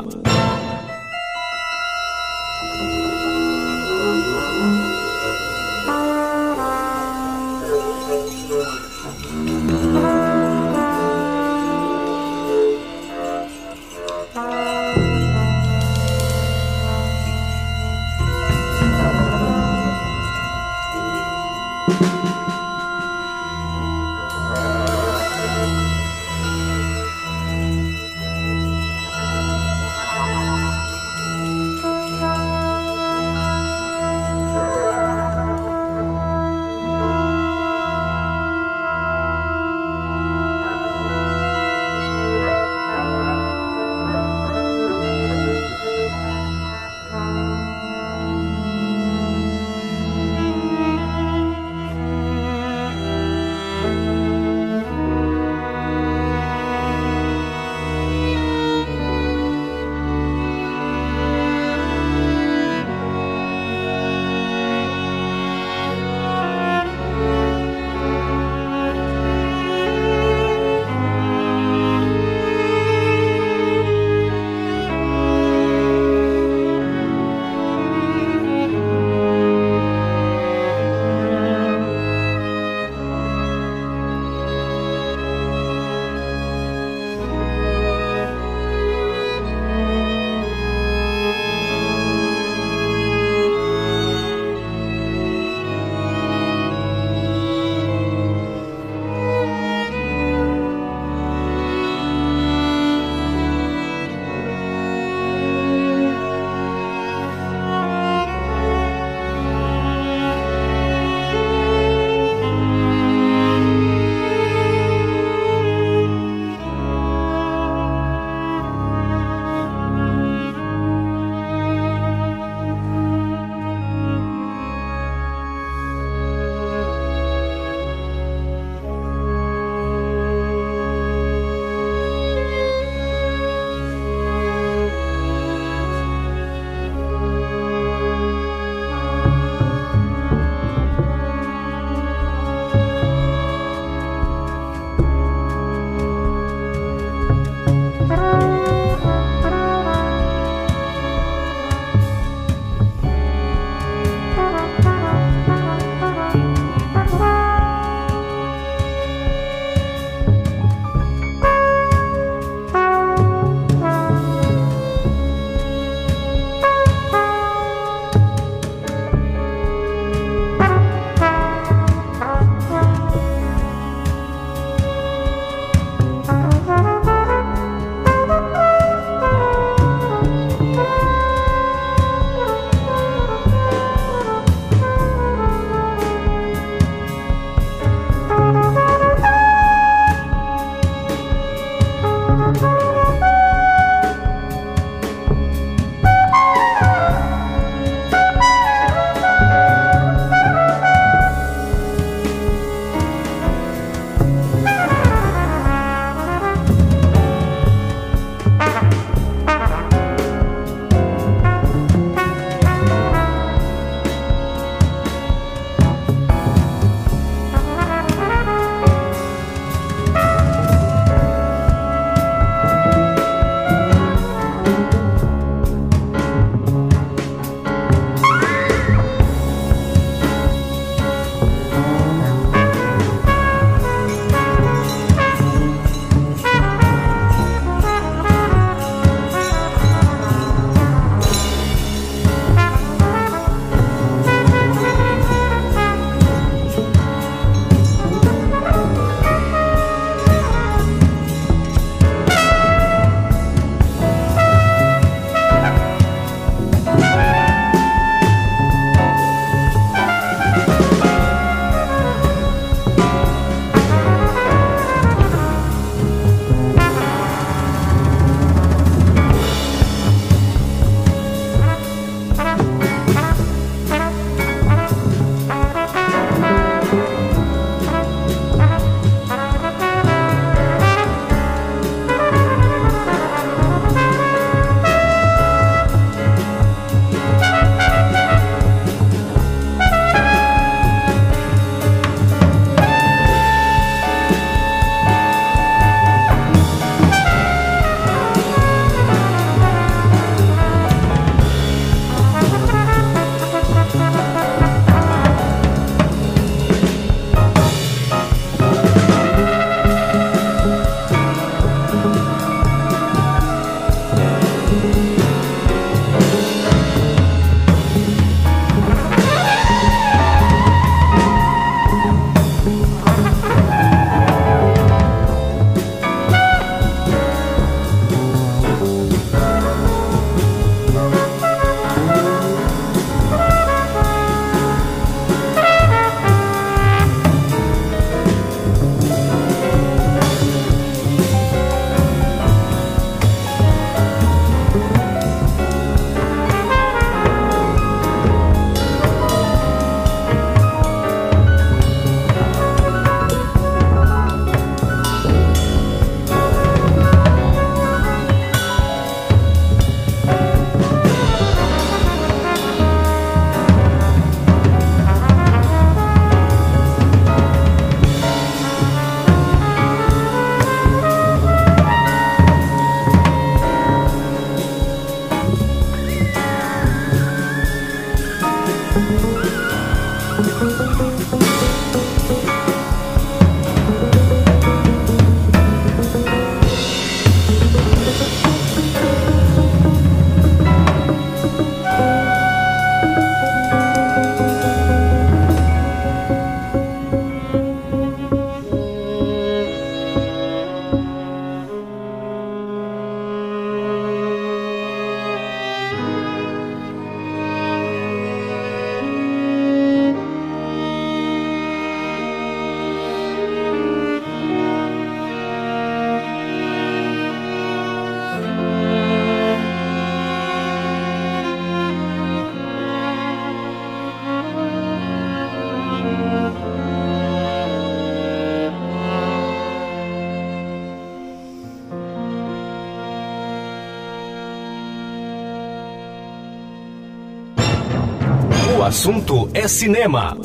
assunto é cinema.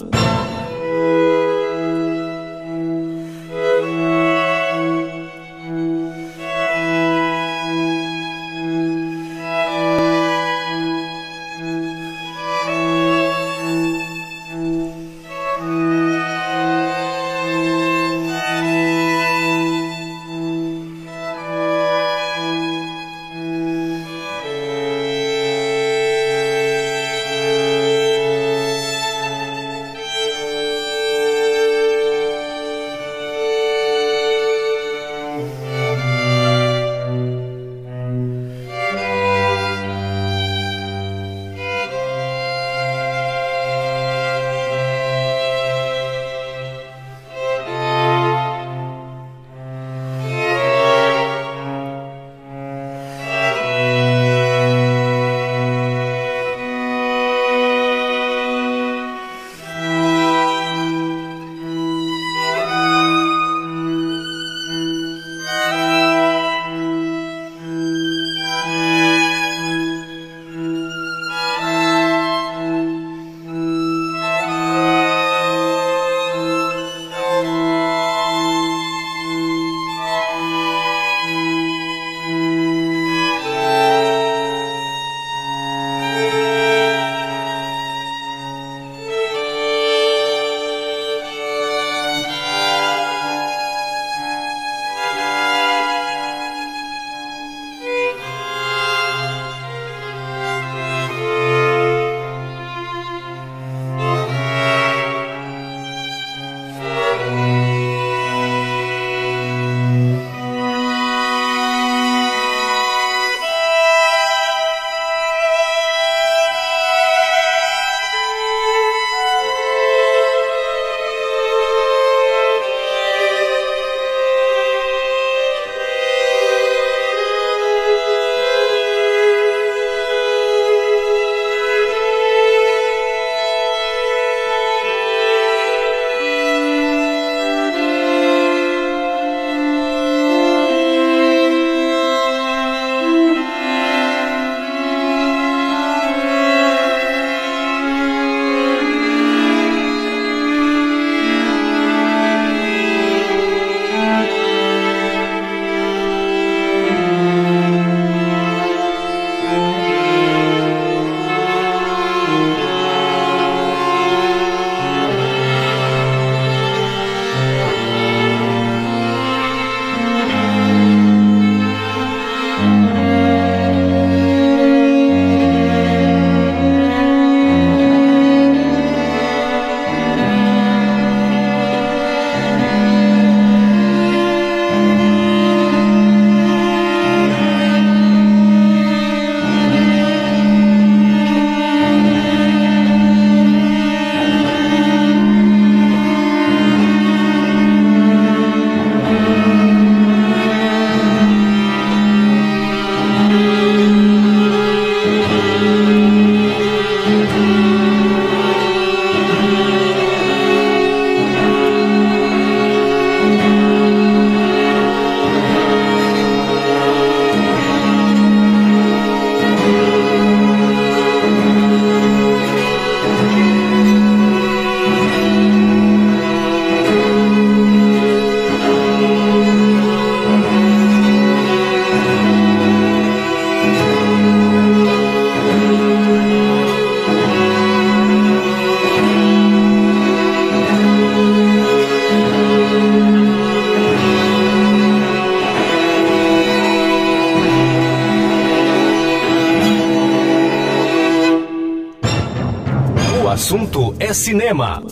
assunto é cinema.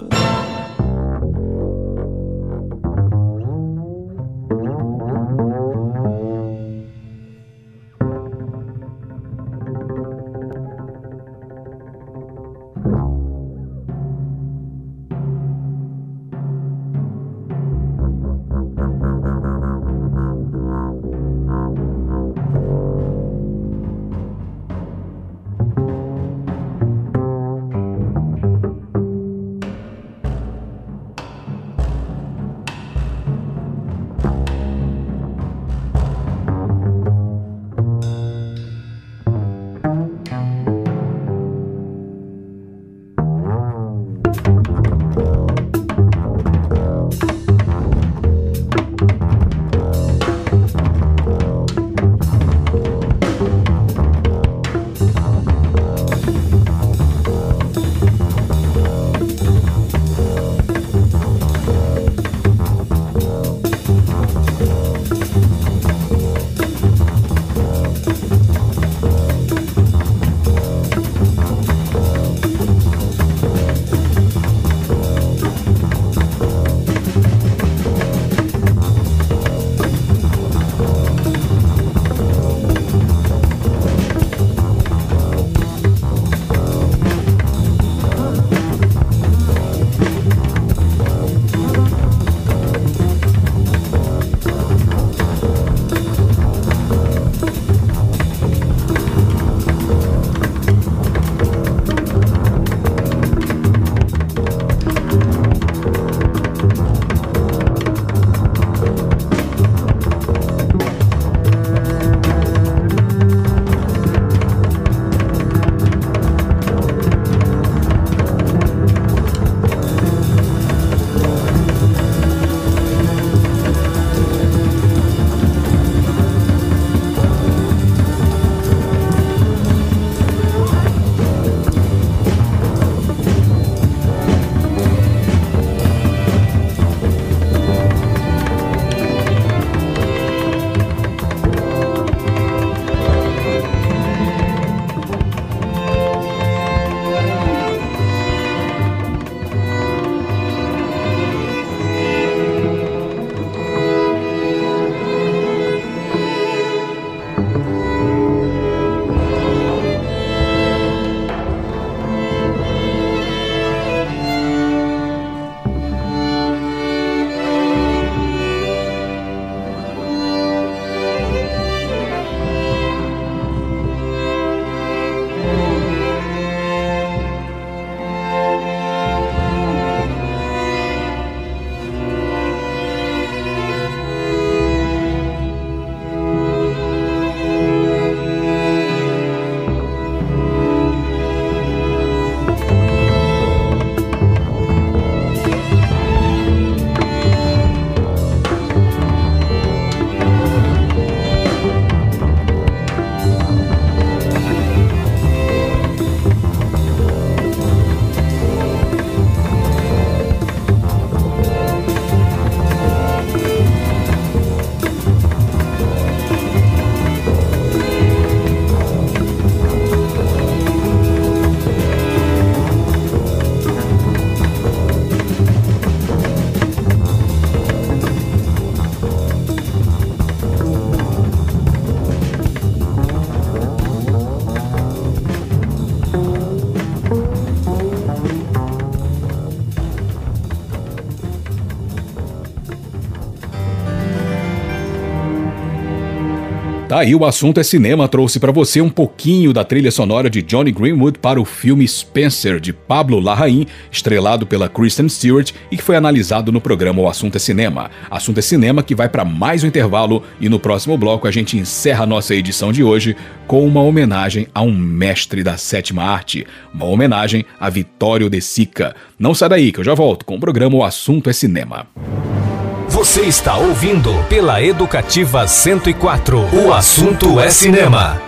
Tá aí, o assunto é cinema, trouxe pra você um pouquinho da trilha sonora de Johnny Greenwood para o filme Spencer, de Pablo Larraín, estrelado pela Kristen Stewart e que foi analisado no programa O Assunto é Cinema. Assunto é Cinema que vai para mais um intervalo e no próximo bloco a gente encerra a nossa edição de hoje com uma homenagem a um mestre da sétima arte, uma homenagem a Vittorio De Sica. Não sai daí que eu já volto com o programa O Assunto é Cinema. Você está ouvindo pela Educativa cento e quatro. O assunto é cinema.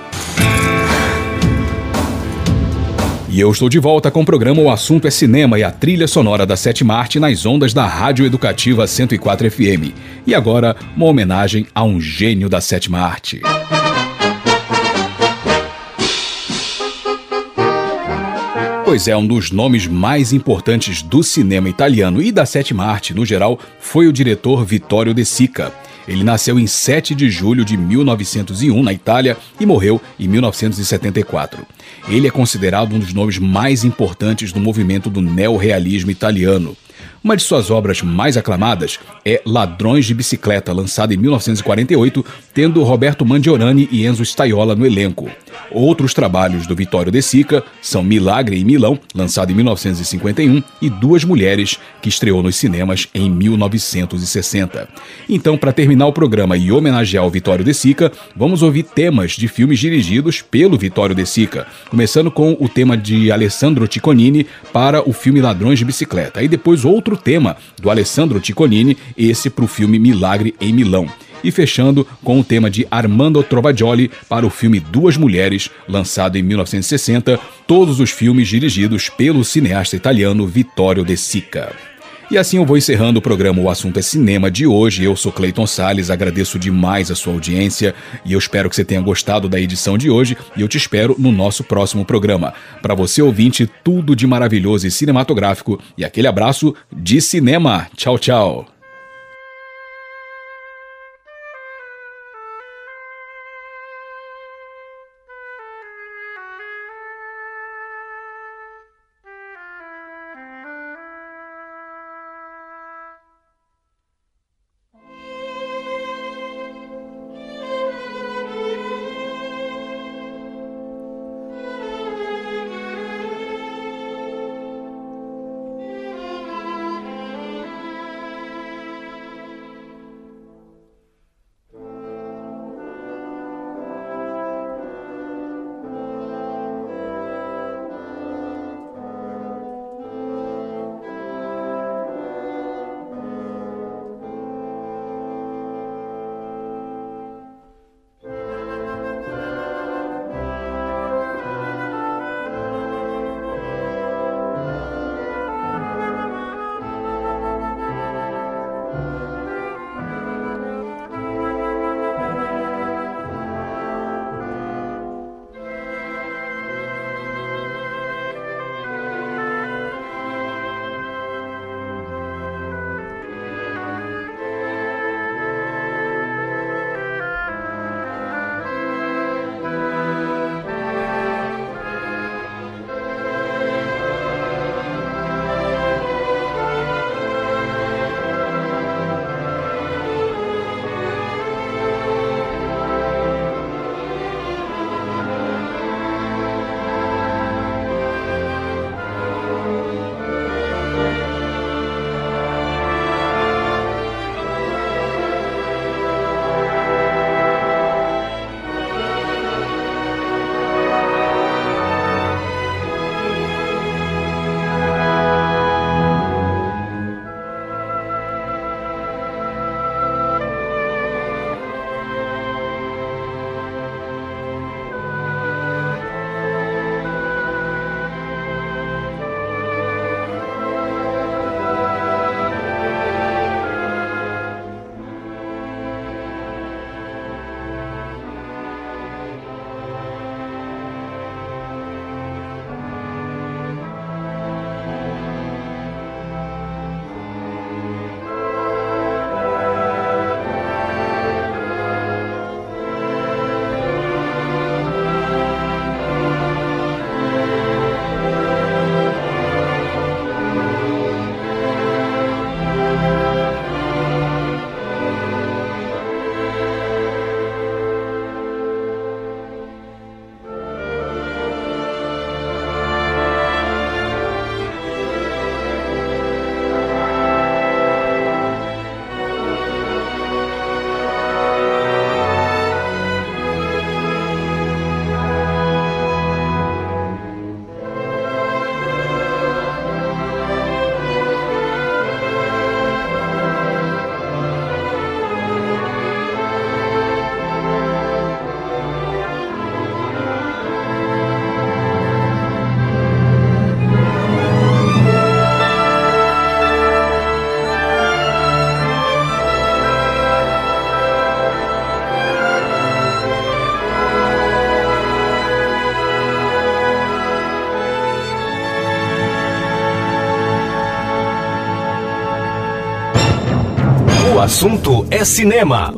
E eu estou de volta com o programa O Assunto é Cinema e a trilha sonora da sétima arte nas ondas da Rádio Educativa cento e quatro F M. E agora, uma homenagem a um gênio da sétima arte. Pois é, um dos nomes mais importantes do cinema italiano e da sétima arte no geral foi o diretor Vittorio De Sica. Ele nasceu em sete de julho de mil novecentos e um na Itália e morreu em mil novecentos e setenta e quatro. Ele é considerado um dos nomes mais importantes do movimento do neorrealismo italiano. Uma de suas obras mais aclamadas é Ladrões de Bicicleta, lançada em mil novecentos e quarenta e oito, tendo Roberto Mangiorani e Enzo Staiola no elenco. Outros trabalhos do Vittorio De Sica são Milagre em Milão, lançado em mil novecentos e cinquenta e um, e Duas Mulheres, que estreou nos cinemas em mil novecentos e sessenta. Então, para terminar o programa e homenagear o Vittorio De Sica, vamos ouvir temas de filmes dirigidos pelo Vittorio De Sica, começando com o tema de Alessandro Cicconini para o filme Ladrões de Bicicleta, e depois outro tema do Alessandro Cicconini, esse para o filme Milagre em Milão. E fechando com o tema de Armando Trovajoli para o filme Duas Mulheres, lançado em mil novecentos e sessenta, todos os filmes dirigidos pelo cineasta italiano Vittorio De Sica. E assim eu vou encerrando o programa O Assunto é Cinema de hoje. Eu sou Cleiton Salles, agradeço demais a sua audiência e eu espero que você tenha gostado da edição de hoje e eu te espero no nosso próximo programa. Para você ouvinte, tudo de maravilhoso e cinematográfico e aquele abraço de cinema. Tchau, tchau. assunto é cinema.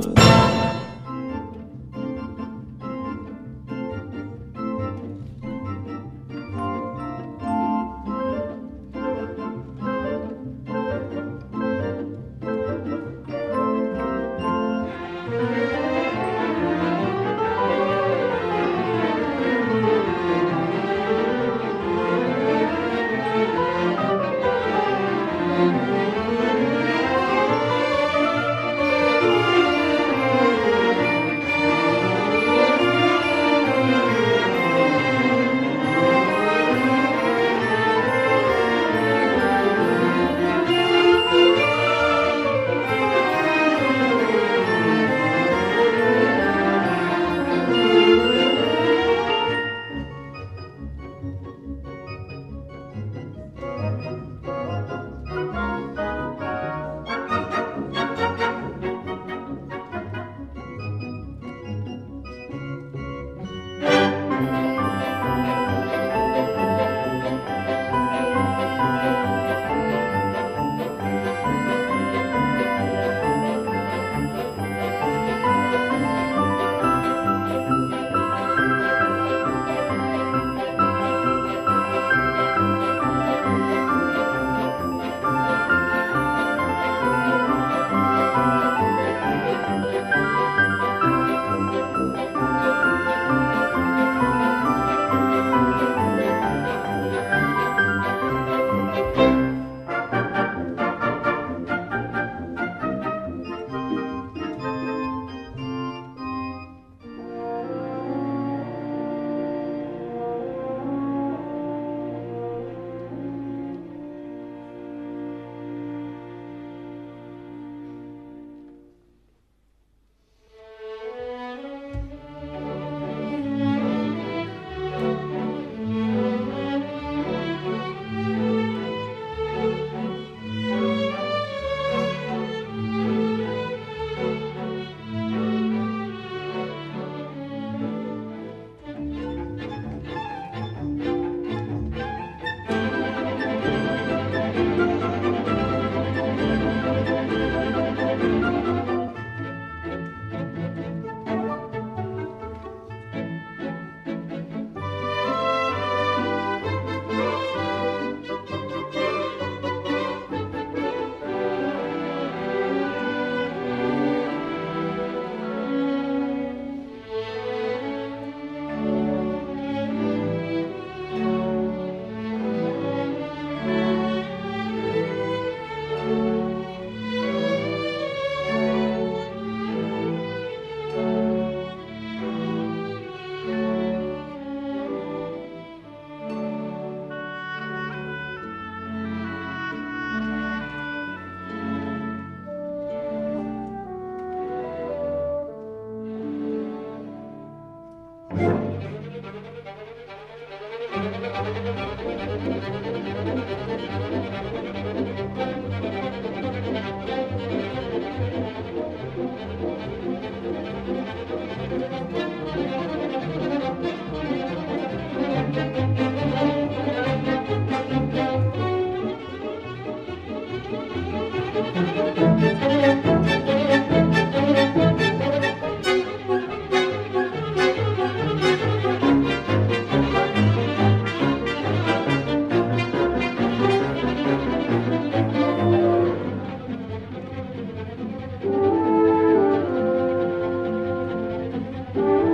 Thank you.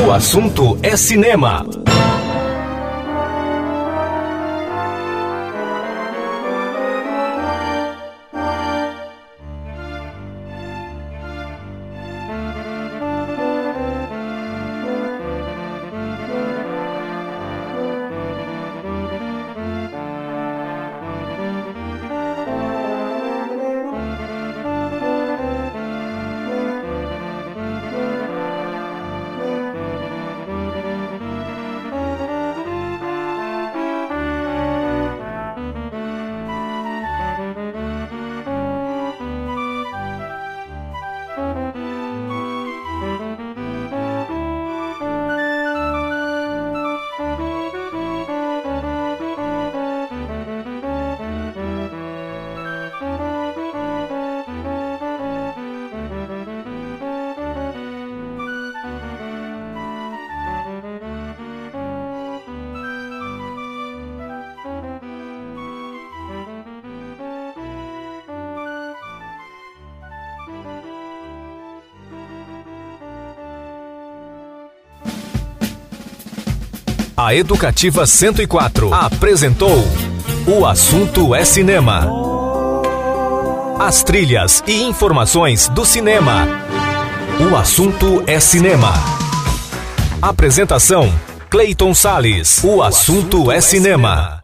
O assunto é cinema. A Educativa cento e quatro apresentou O Assunto é Cinema. As trilhas e informações do cinema. O Assunto é Cinema. Apresentação: Cleiton Salles. O Assunto é Cinema.